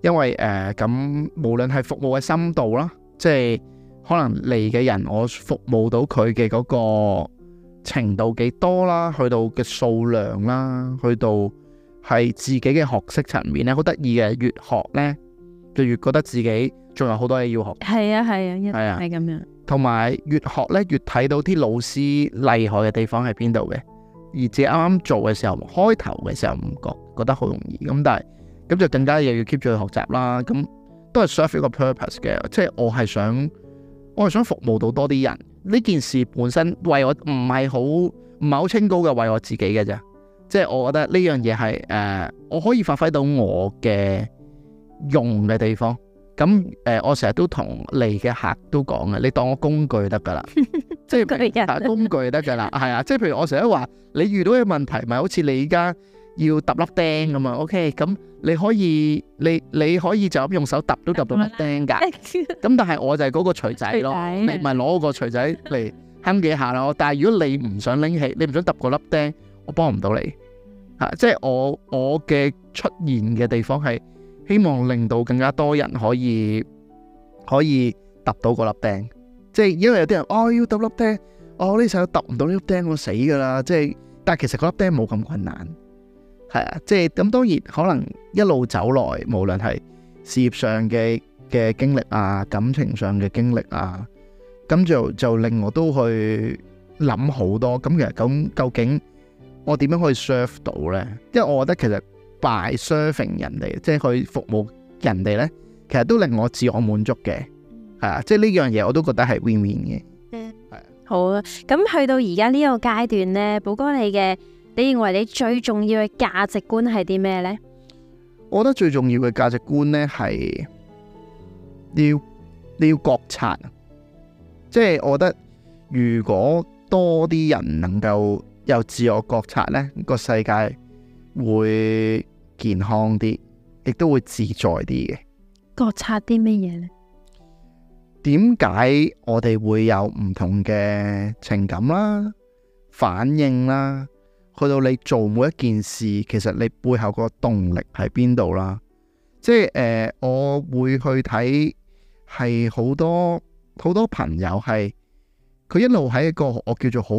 Speaker 3: 因為誒咁、呃、無論係服務嘅深度啦，即係可能嚟嘅人我服務到佢嘅嗰個程度幾多啦，去到嘅數量啦，去到係自己嘅學識層面咧，好得意嘅，越學咧就越覺得自己仲有好多嘢要學。
Speaker 2: 係啊係啊，一定
Speaker 3: 係啊
Speaker 2: 係咁樣。
Speaker 3: 同埋越學咧越睇到啲老師厲害嘅地方喺邊度嘅，而自己啱啱做嘅時候，開頭嘅時候唔覺覺得好容易，咁但係咁就更加又要 keep 住去學習啦。咁都係 serve 一個 purpose 嘅，即係我係想我係想服務到多啲人。呢件事本身為我唔係好唔係好清高嘅，為我自己嘅啫。即係我覺得呢樣嘢係誒我可以發揮到我嘅用嘅地方。咁誒、呃，我成日都同嚟嘅客都講嘅，你當我工具得噶啦，即係工具得噶啦，係啊，即係譬如我成日都話，你遇到嘅問題，咪好似你而家要揼粒釘咁啊 ，OK，咁你可以，你你可以就咁用手揼都揼到粒釘噶，咁但係我就係嗰個錘仔咯，仔你咪攞個錘仔嚟慳幾下咯，但係如果你唔想拎起，你唔想揼嗰粒釘，我幫唔到你，吓、啊，即係我我嘅出現嘅地方係。希望令到更加多人可以可以揼到嗰粒釘，即係因為有啲人哦要揼粒釘，哦呢時候揼唔到呢粒釘我死噶啦，即係但係其實嗰粒釘冇咁困難，係啊，即係咁當然可能一路走來，無論係事業上嘅嘅經歷啊，感情上嘅經歷啊，咁就就令我都去諗好多，咁其實咁究竟我點樣可以 serve 到呢？因為我覺得其實。by serving 人哋，即係去服務人哋呢，其實都令我自我滿足嘅，係啊，即係呢樣嘢我都覺得係 win win 嘅。嗯，係啊。好啊，
Speaker 2: 咁去到而家呢個階段呢，寶哥你嘅，你認為你最重要嘅價值觀係啲咩呢？
Speaker 3: 我覺得最重要嘅價值觀呢係你要你要覺察，即係我覺得如果多啲人能夠有自我覺察呢，個世界會健康啲，亦都會自在啲嘅。
Speaker 2: 覺察啲乜嘢呢？
Speaker 3: 點解我哋會有唔同嘅情感啦、反應啦？去到你做每一件事，其實你背後個動力喺邊度啦？即係誒、呃，我會去睇係好多好多朋友係佢一路喺一個我叫做好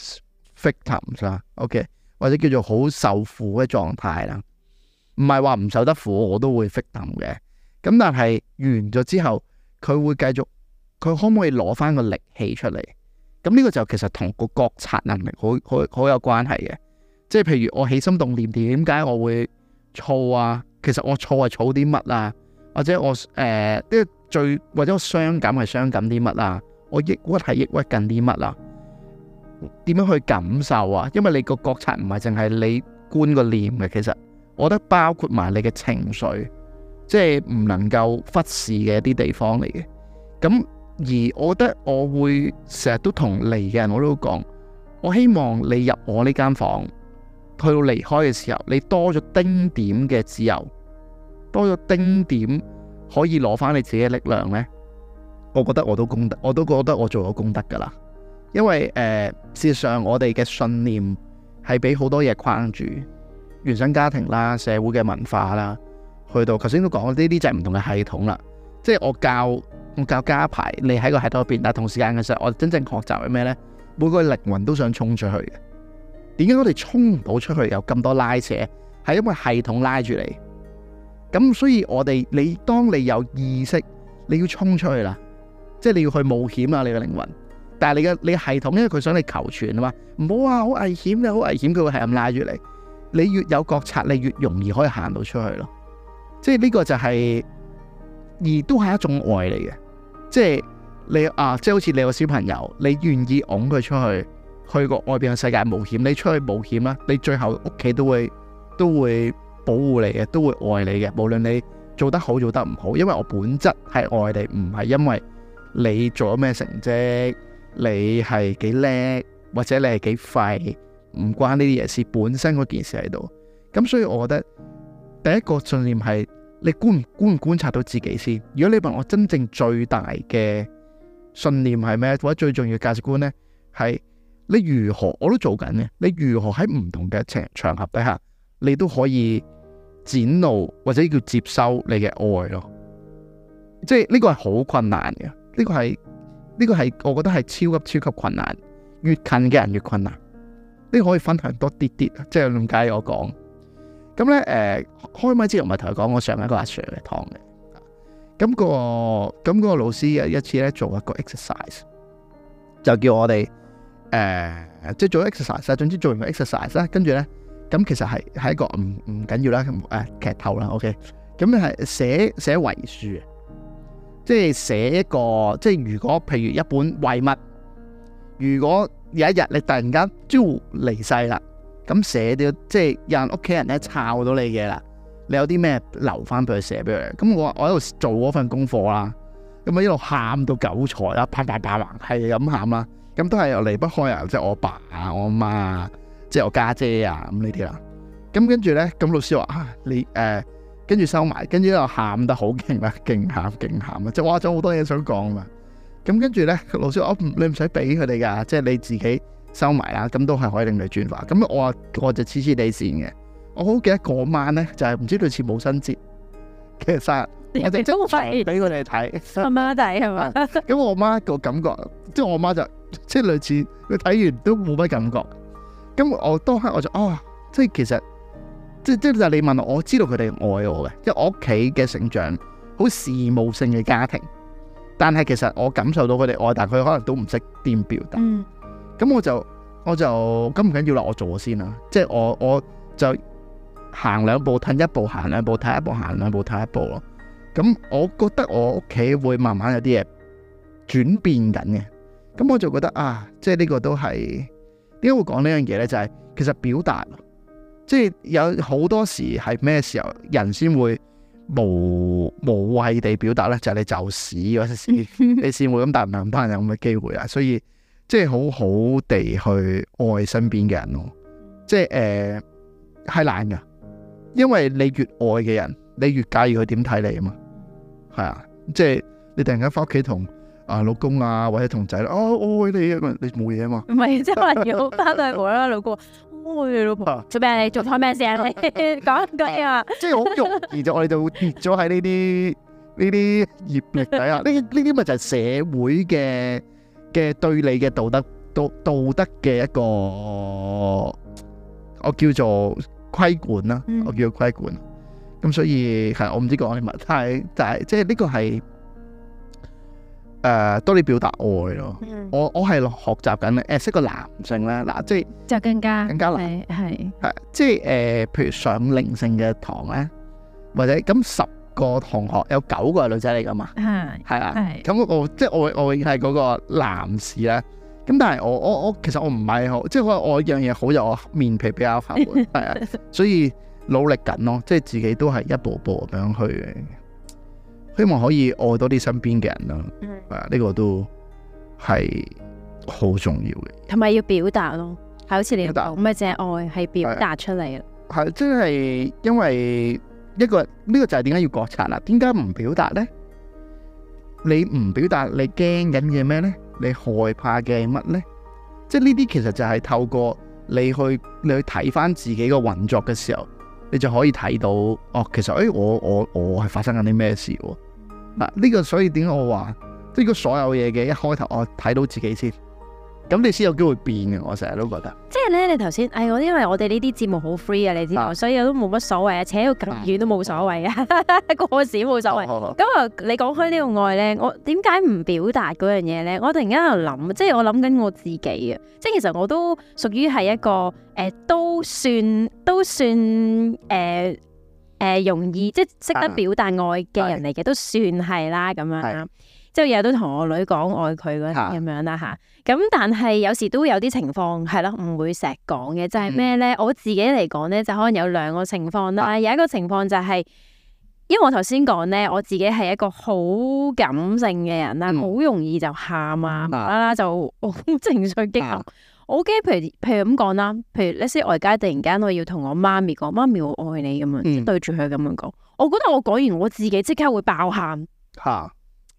Speaker 3: victims 啦，OK，或者叫做好受苦嘅狀態啦。唔係話唔受得苦，我都會 victim 嘅。咁但係完咗之後，佢會繼續，佢可唔可以攞翻個力氣出嚟？咁呢個就其實同個覺察能力好好好有關係嘅。即係譬如我起心動念，點解我會燥啊？其實我燥係燥啲乜啊？或者我誒，即係最或者我傷感係傷感啲乜啊？我抑鬱係抑鬱緊啲乜啊？點樣去感受啊？因為你個覺察唔係淨係你觀個念嘅，其實我覺得包括埋你嘅情緒，即係唔能夠忽視嘅一啲地方嚟嘅。咁而我覺得我會成日都同嚟嘅人我都講，我希望你入我呢間房，去到離開嘅時候，你多咗丁點嘅自由，多咗丁點可以攞翻你自己嘅力量呢。我覺得我都功德，我都覺得我做咗功德噶啦。因為誒、呃，事實上我哋嘅信念係俾好多嘢框住，原生家庭啦、社會嘅文化啦，去到頭先都講呢啲就係唔同嘅系統啦。即係我教我教家排，你喺個系統入邊，但係同時間嘅時候，我真正學習係咩呢？每個靈魂都想衝出去嘅。點解我哋衝唔到出去？有咁多拉扯，係因為系統拉住你。咁所以我哋，你當你有意識，你要衝出去啦，即係你要去冒險啦，你嘅靈魂。但係你嘅你系統，因為佢想你求全啊嘛，唔好啊，好危險啊，好危險，佢會係咁拉住你。你越有覺察，你越容易可以行到出去咯。即係呢個就係、是，而都係一種愛嚟嘅。即係你啊，即係好似你個小朋友，你願意擁佢出去，去個外邊嘅世界冒險，你出去冒險啦，你最後屋企都會都會保護你嘅，都會愛你嘅。無論你做得好做得唔好，因為我本質係愛你，唔係因為你做咗咩成績。你係幾叻，或者你係幾廢，唔關呢啲嘢事，本身嗰件事喺度。咁所以我覺得第一個信念係你觀唔觀唔觀察到自己先。如果你問我真正最大嘅信念係咩，或者最重要嘅價值觀呢，係你如何我都做緊嘅。你如何喺唔同嘅場場合底下，你都可以展露或者叫接收你嘅愛咯。即係呢個係好困難嘅，呢、這個係呢、這個係我覺得係超級超級困難，越近嘅人越困難。呢、這個可以分享多啲啲，即係點解我講？咁咧誒，開麥之前唔係同佢講我上一個阿 Sir 嘅堂嘅。咁、那個咁嗰個老師有一次咧做一個 exercise，就叫我哋誒、呃、即係做 exercise，總之做完個 exercise 啦，跟住咧咁其實係係一個唔唔緊要啦，誒、呃、劇透啦 ，OK，咁係寫寫遺書，即係寫一個即係如果譬如一本遺物，如果有一日你突然間招離世啦，咁寫到即係有人屋企人咧抄到你嘅啦。你有啲咩留翻俾佢寫俾佢？咁我我喺度做嗰份功課啦，咁啊一路喊到九彩啦，啪啪啪啪係咁喊啦，咁都係又離不開啊，即係我爸啊、我阿媽啊、即係我家姐啊咁呢啲啦。咁跟住咧，咁老師話啊，你誒跟住收埋，跟住又喊得好勁啦，勁喊勁喊啊！即係哇，仲好多嘢想講嘛。咁跟住咧，老師話：你唔使俾佢哋㗎，即係你自己收埋啦。咁都係可以令你轉化。咁我話我就黐黐地線嘅。我好記得嗰晚咧，就係、是、唔知類似母親節嘅生日，我哋真係俾佢哋睇，
Speaker 2: 阿媽睇係嘛？
Speaker 3: 咁我媽個感覺，即係我媽就即係類似佢睇完都冇乜感覺。咁我當刻我就哦，即係其實即即就你問我，我知道佢哋愛我嘅，因為我屋企嘅成長好事務性嘅家庭，但係其實我感受到佢哋愛，但係佢可能都唔識點表達。咁、嗯、我就我就咁唔緊要啦，我做先啦，即係我我就。行兩步褪一步，行兩步褪一步，行兩步褪一步咯。咁我覺得我屋企會慢慢有啲嘢轉變緊嘅。咁我就覺得啊，即係呢個都係點解會講呢樣嘢呢？就係、是、其實表達，即係有好多時係咩時候人先會無無謂地表達呢？就係、是、你就屎嗰時，你先會咁，但係唔係咁多人有咁嘅機會啊。所以即係好好地去愛身邊嘅人咯。即係誒係難噶。因為你越愛嘅人，你越介意佢點睇你啊嘛，係啊，即係你突然間翻屋企同啊老公啊或者同仔哦我愛你啊，你冇嘢啊嘛，唔係
Speaker 2: 即係可能要翻到去無啦啦老公我愛你老婆做咩？你做開咩先啊？你講講啊，即係好容
Speaker 3: 易就我哋就會跌咗喺呢啲呢啲業力底下，呢呢啲咪就係社會嘅嘅對你嘅道德道道德嘅一個我叫做。規管啦，我叫佢規管，咁、嗯、所以係我唔知講啲乜，但係但係即係呢個係誒、呃、多啲表達愛咯、嗯。我我係學習緊誒，識個男性咧，嗱即係
Speaker 2: 就更加
Speaker 3: 更加難
Speaker 2: 係
Speaker 3: 係即係誒、呃，譬如上靈性嘅堂咧，或者咁十個同學有九個係女仔嚟噶嘛，係係啊，咁我即係我我係嗰個男士咧。咁但係我我我其實我唔係好，即係我我樣嘢好就我面皮比較厚，係啊，所以努力緊咯，即係自己都係一步步咁樣去，希望可以愛多啲身邊嘅人咯，係啊，呢個都係好重要嘅，
Speaker 2: 同埋要表達咯，係好似你講唔係淨係愛，係表達出嚟咯，
Speaker 3: 係即係因為一個呢、呢個就係點解要覺察啦？點解唔表達咧？你唔表達，你驚緊嘅咩咧？你害怕嘅係乜呢？即係呢啲其實就係透過你去你去睇翻自己個運作嘅時候，你就可以睇到哦。其實誒、哎，我我我係發生緊啲咩事喎？嗱，呢個所以點解我話，即係個所有嘢嘅一開頭，我睇到自己先。咁你先有機會變嘅，我成日都覺得。即係咧，你頭先，哎，我因為我哋呢啲節目好 free 啊，你知道，啊、所以我都冇乜所謂啊，扯到咁遠都冇所謂啊，過時冇所謂。咁啊，你講開呢個愛咧，我點解唔表達嗰樣嘢咧？我突然間喺度諗，即係我諗緊我自己啊，即係其實我都屬於係一個誒、呃，都算都算誒誒、呃呃、容易，即係識得表達愛嘅人嚟嘅，都算係啦咁樣啦。即係日日都同我女講愛佢嗰啲咁樣啦吓，咁但係有時都有啲情況係咯，唔會成日講嘅，就係咩咧？我自己嚟講咧，就可能有兩個情況啦。有一個情況就係、是，因為我頭先講咧，我自己係一個好感性嘅人啦，好、嗯、容易就喊啊，無啦啦就好情緒激動。我驚，譬如譬如咁講啦，譬如呢啲外街突然間我要同我媽咪講，媽咪我愛你咁樣，即、嗯、對住佢咁樣講，我覺得我講完我自己即刻會爆喊。吓。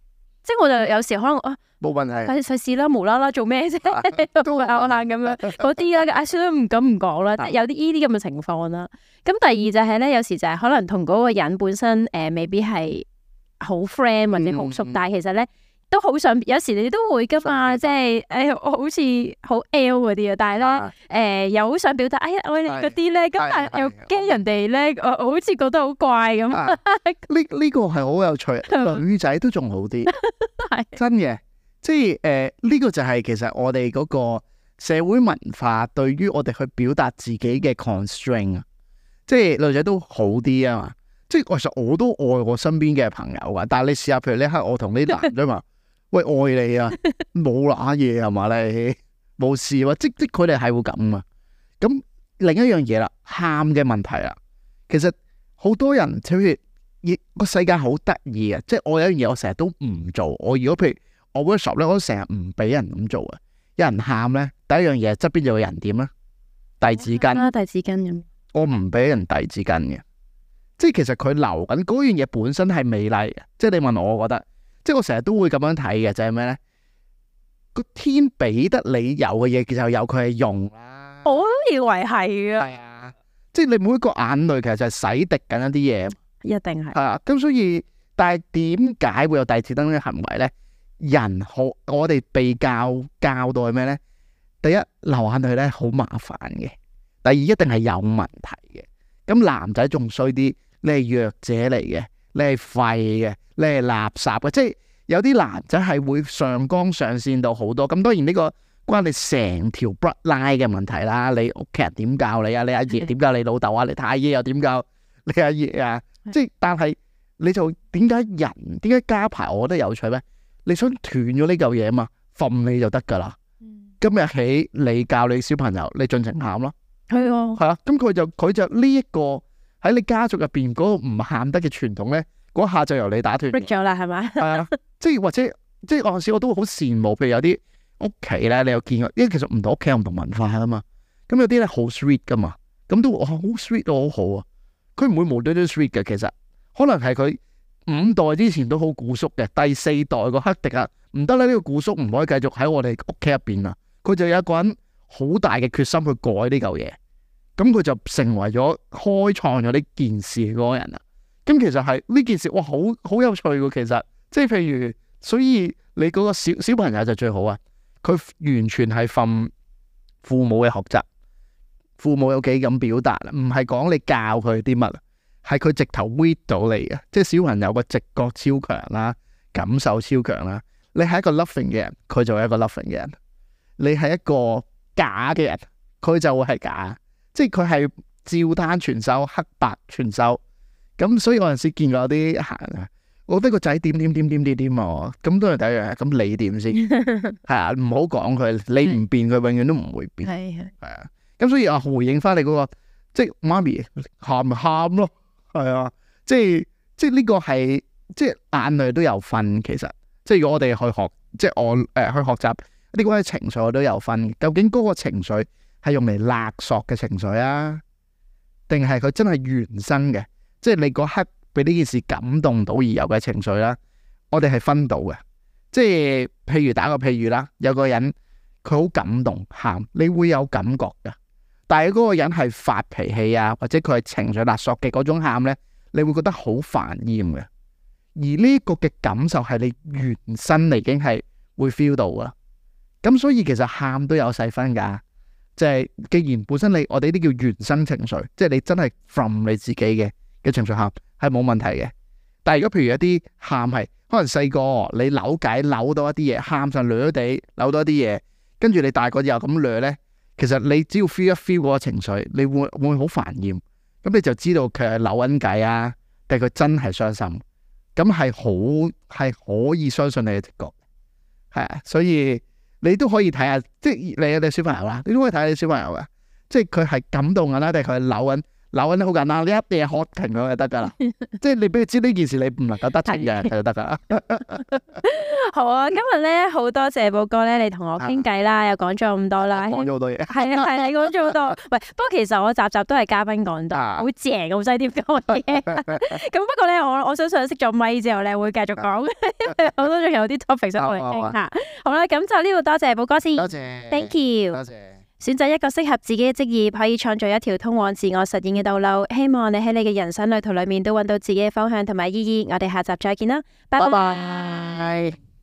Speaker 2: 即係我就有時可能啊，
Speaker 3: 冇問題，
Speaker 2: 費費事啦，無啦啦做咩啫？都係拗下咁樣嗰啲啦，阿算都唔敢唔講啦，即係有啲呢啲咁嘅情況啦。咁第二就係咧，有時就係可能同嗰個人本身誒、呃，未必係好 friend 或者好熟，嗯、但係其實咧都好想，有時你都會噶嘛，即係誒，我好似好 L 嗰啲啊，但係咧誒，又好想表達，哎呀，我哋嗰啲咧，咁但係又驚人哋咧，我我好似覺得好怪咁。呢
Speaker 3: 呢個係好有趣，女仔都仲好啲，真嘅，即係誒呢個就係其實我哋嗰個社會文化對於我哋去表達自己嘅 constraint 啊，即係女仔都好啲啊嘛。即係其實我都愛我身邊嘅朋友噶，但係你試下，譬如呢刻我同啲男仔話，喂，愛你啊，冇乸嘢係嘛，你冇事喎，即即佢哋係會咁啊。咁另一樣嘢啦，喊嘅問題啦，其實好多人好似個世界好得意啊，即係我有樣嘢我成日都唔做。我如果譬如我 workshop 咧，我都成日唔俾人咁做啊。有人喊咧，第一樣嘢側邊就有人點啊？遞紙巾
Speaker 2: 啊，遞紙巾咁。我
Speaker 3: 唔俾人遞紙巾嘅。即係其實佢流緊嗰樣嘢本身係美麗嘅，即係你問我，我覺得，即係我成日都會咁樣睇嘅，就係咩咧？個天俾得你有嘅嘢，其實有佢係用啦。
Speaker 2: 我都以為係啊。
Speaker 3: 係啊，即係你每一個眼淚其實就係洗滌緊一啲嘢。
Speaker 2: 一定係。係
Speaker 3: 啊，咁所以，但係點解會有遞紙燈嘅行為咧？人好，我哋被教教到係咩咧？第一，流眼淚咧好麻煩嘅；第二，一定係有問題嘅。咁男仔仲衰啲。你係弱者嚟嘅，你係廢嘅，你係垃圾嘅，即係有啲男仔係會上綱上線到好多。咁當然呢個關你成條 bloodline 嘅問題啦。你屋企人點教你啊？你阿爺點教你老豆啊？你太爺又點教你阿爺啊？即係但係你就點解人點解加排？我覺得有趣咩？你想斷咗呢嚿嘢嘛？瞓你就得噶啦。今日起你教你小朋友，你盡情喊咯。係啊，係啊。咁佢就佢就呢一個。喺你家族入邊嗰個唔喊得嘅傳統咧，嗰下就由你打斷
Speaker 2: 咗啦，係咪？係
Speaker 3: 啊，即係或者即係嗰陣時我都好羨慕，譬如有啲屋企咧，你有見過？因為其實唔同屋企有唔同文化啊嘛。咁有啲咧好 sweet 噶嘛，咁都哇好 sweet 都好好啊。佢唔會無端端 sweet 嘅，其實可能係佢五代之前都好古縮嘅，第四代個黑迪啊唔得啦，呢個古縮唔可以繼續喺我哋屋企入邊啊。佢就有一個人好大嘅決心去改呢嚿嘢。咁佢就成為咗開創咗呢件事嗰個人啦。咁其實係呢件事，哇，好好有趣喎。其實即係譬如，所以你嗰個小小朋友就最好啊。佢完全係奉父母嘅學習，父母有幾咁表達啦，唔係講你教佢啲乜，係佢直頭 read 到你嘅。即係小朋友個直覺超強啦，感受超強啦。你係一個 loving 嘅人，佢就係一個 loving 嘅人；你係一個假嘅人，佢就會係假。即係佢係照單全收，黑白全收。咁所以我有陣時見過有啲行啊，我覺得個仔點點點點點點啊，咁都係第一樣。咁你點先？係啊，唔好講佢，你唔變佢，永遠都唔會變。係係係啊。咁所以啊，回應翻你嗰個，即係媽咪喊咪喊咯，係啊。即係即係呢個係即係眼淚都有分，其實即係如果我哋去學，即係我誒、呃、去學習呢個情緒，我都有分。究竟嗰個情緒係用嚟勒索嘅情緒啊，定係佢真係原生嘅？即係你嗰刻俾呢件事感動到而有嘅情緒啦，我哋係分到嘅。即係譬如打個譬如啦，有個人佢好感動喊，你會有感覺噶。但係嗰個人係發脾氣啊，或者佢係情緒勒索嘅嗰種喊呢，你會覺得好煩厭嘅。而呢個嘅感受係你原生嚟，已經係會 feel 到噶。咁所以其實喊都有細分噶。即係既然本身你我哋呢啲叫原生情緒，即係你真係 from 你自己嘅嘅情緒喊係冇問題嘅。但係如果譬如一啲喊係可能細個你扭計扭到一啲嘢，喊上掠地扭到一啲嘢，跟住你大個又咁掠呢，其實你只要 feel 一 feel 嗰個情緒，你會會好煩厭。咁你就知道佢係扭緊計啊，定係佢真係傷心。咁係好係可以相信你嘅直覺，係啊，所以。你都可以睇下，即係你有啲小朋友啦，你都可以睇下啲小朋友噶，即係佢係感動緊啦，定係佢係扭緊扭緊得好簡單，你一定係喝停佢就得噶啦，即係你俾佢知呢件事你唔能夠得停嘅就得噶啦。
Speaker 2: 好啊，今日咧好多謝寶哥咧，你同我傾偈啦，又講咗咁多啦，
Speaker 3: 講咗好多嘢。
Speaker 2: 係啊係啊，講咗好多。喂，不過其實我集集都係嘉賓講多，好正，好犀點講嘢。咁不過咧，我我相信熄咗咪之後咧，會繼續講，因為我都仲有啲 topic 想我哋傾下。好啦，咁就呢度多謝寶哥先，
Speaker 3: 多謝
Speaker 2: ，thank you，
Speaker 3: 多謝。
Speaker 2: 選擇一個適合自己嘅職業，可以創造一條通往自我實現嘅道路。希望你喺你嘅人生旅途裏面都揾到自己嘅方向同埋意義。我哋下集再見啦，拜拜。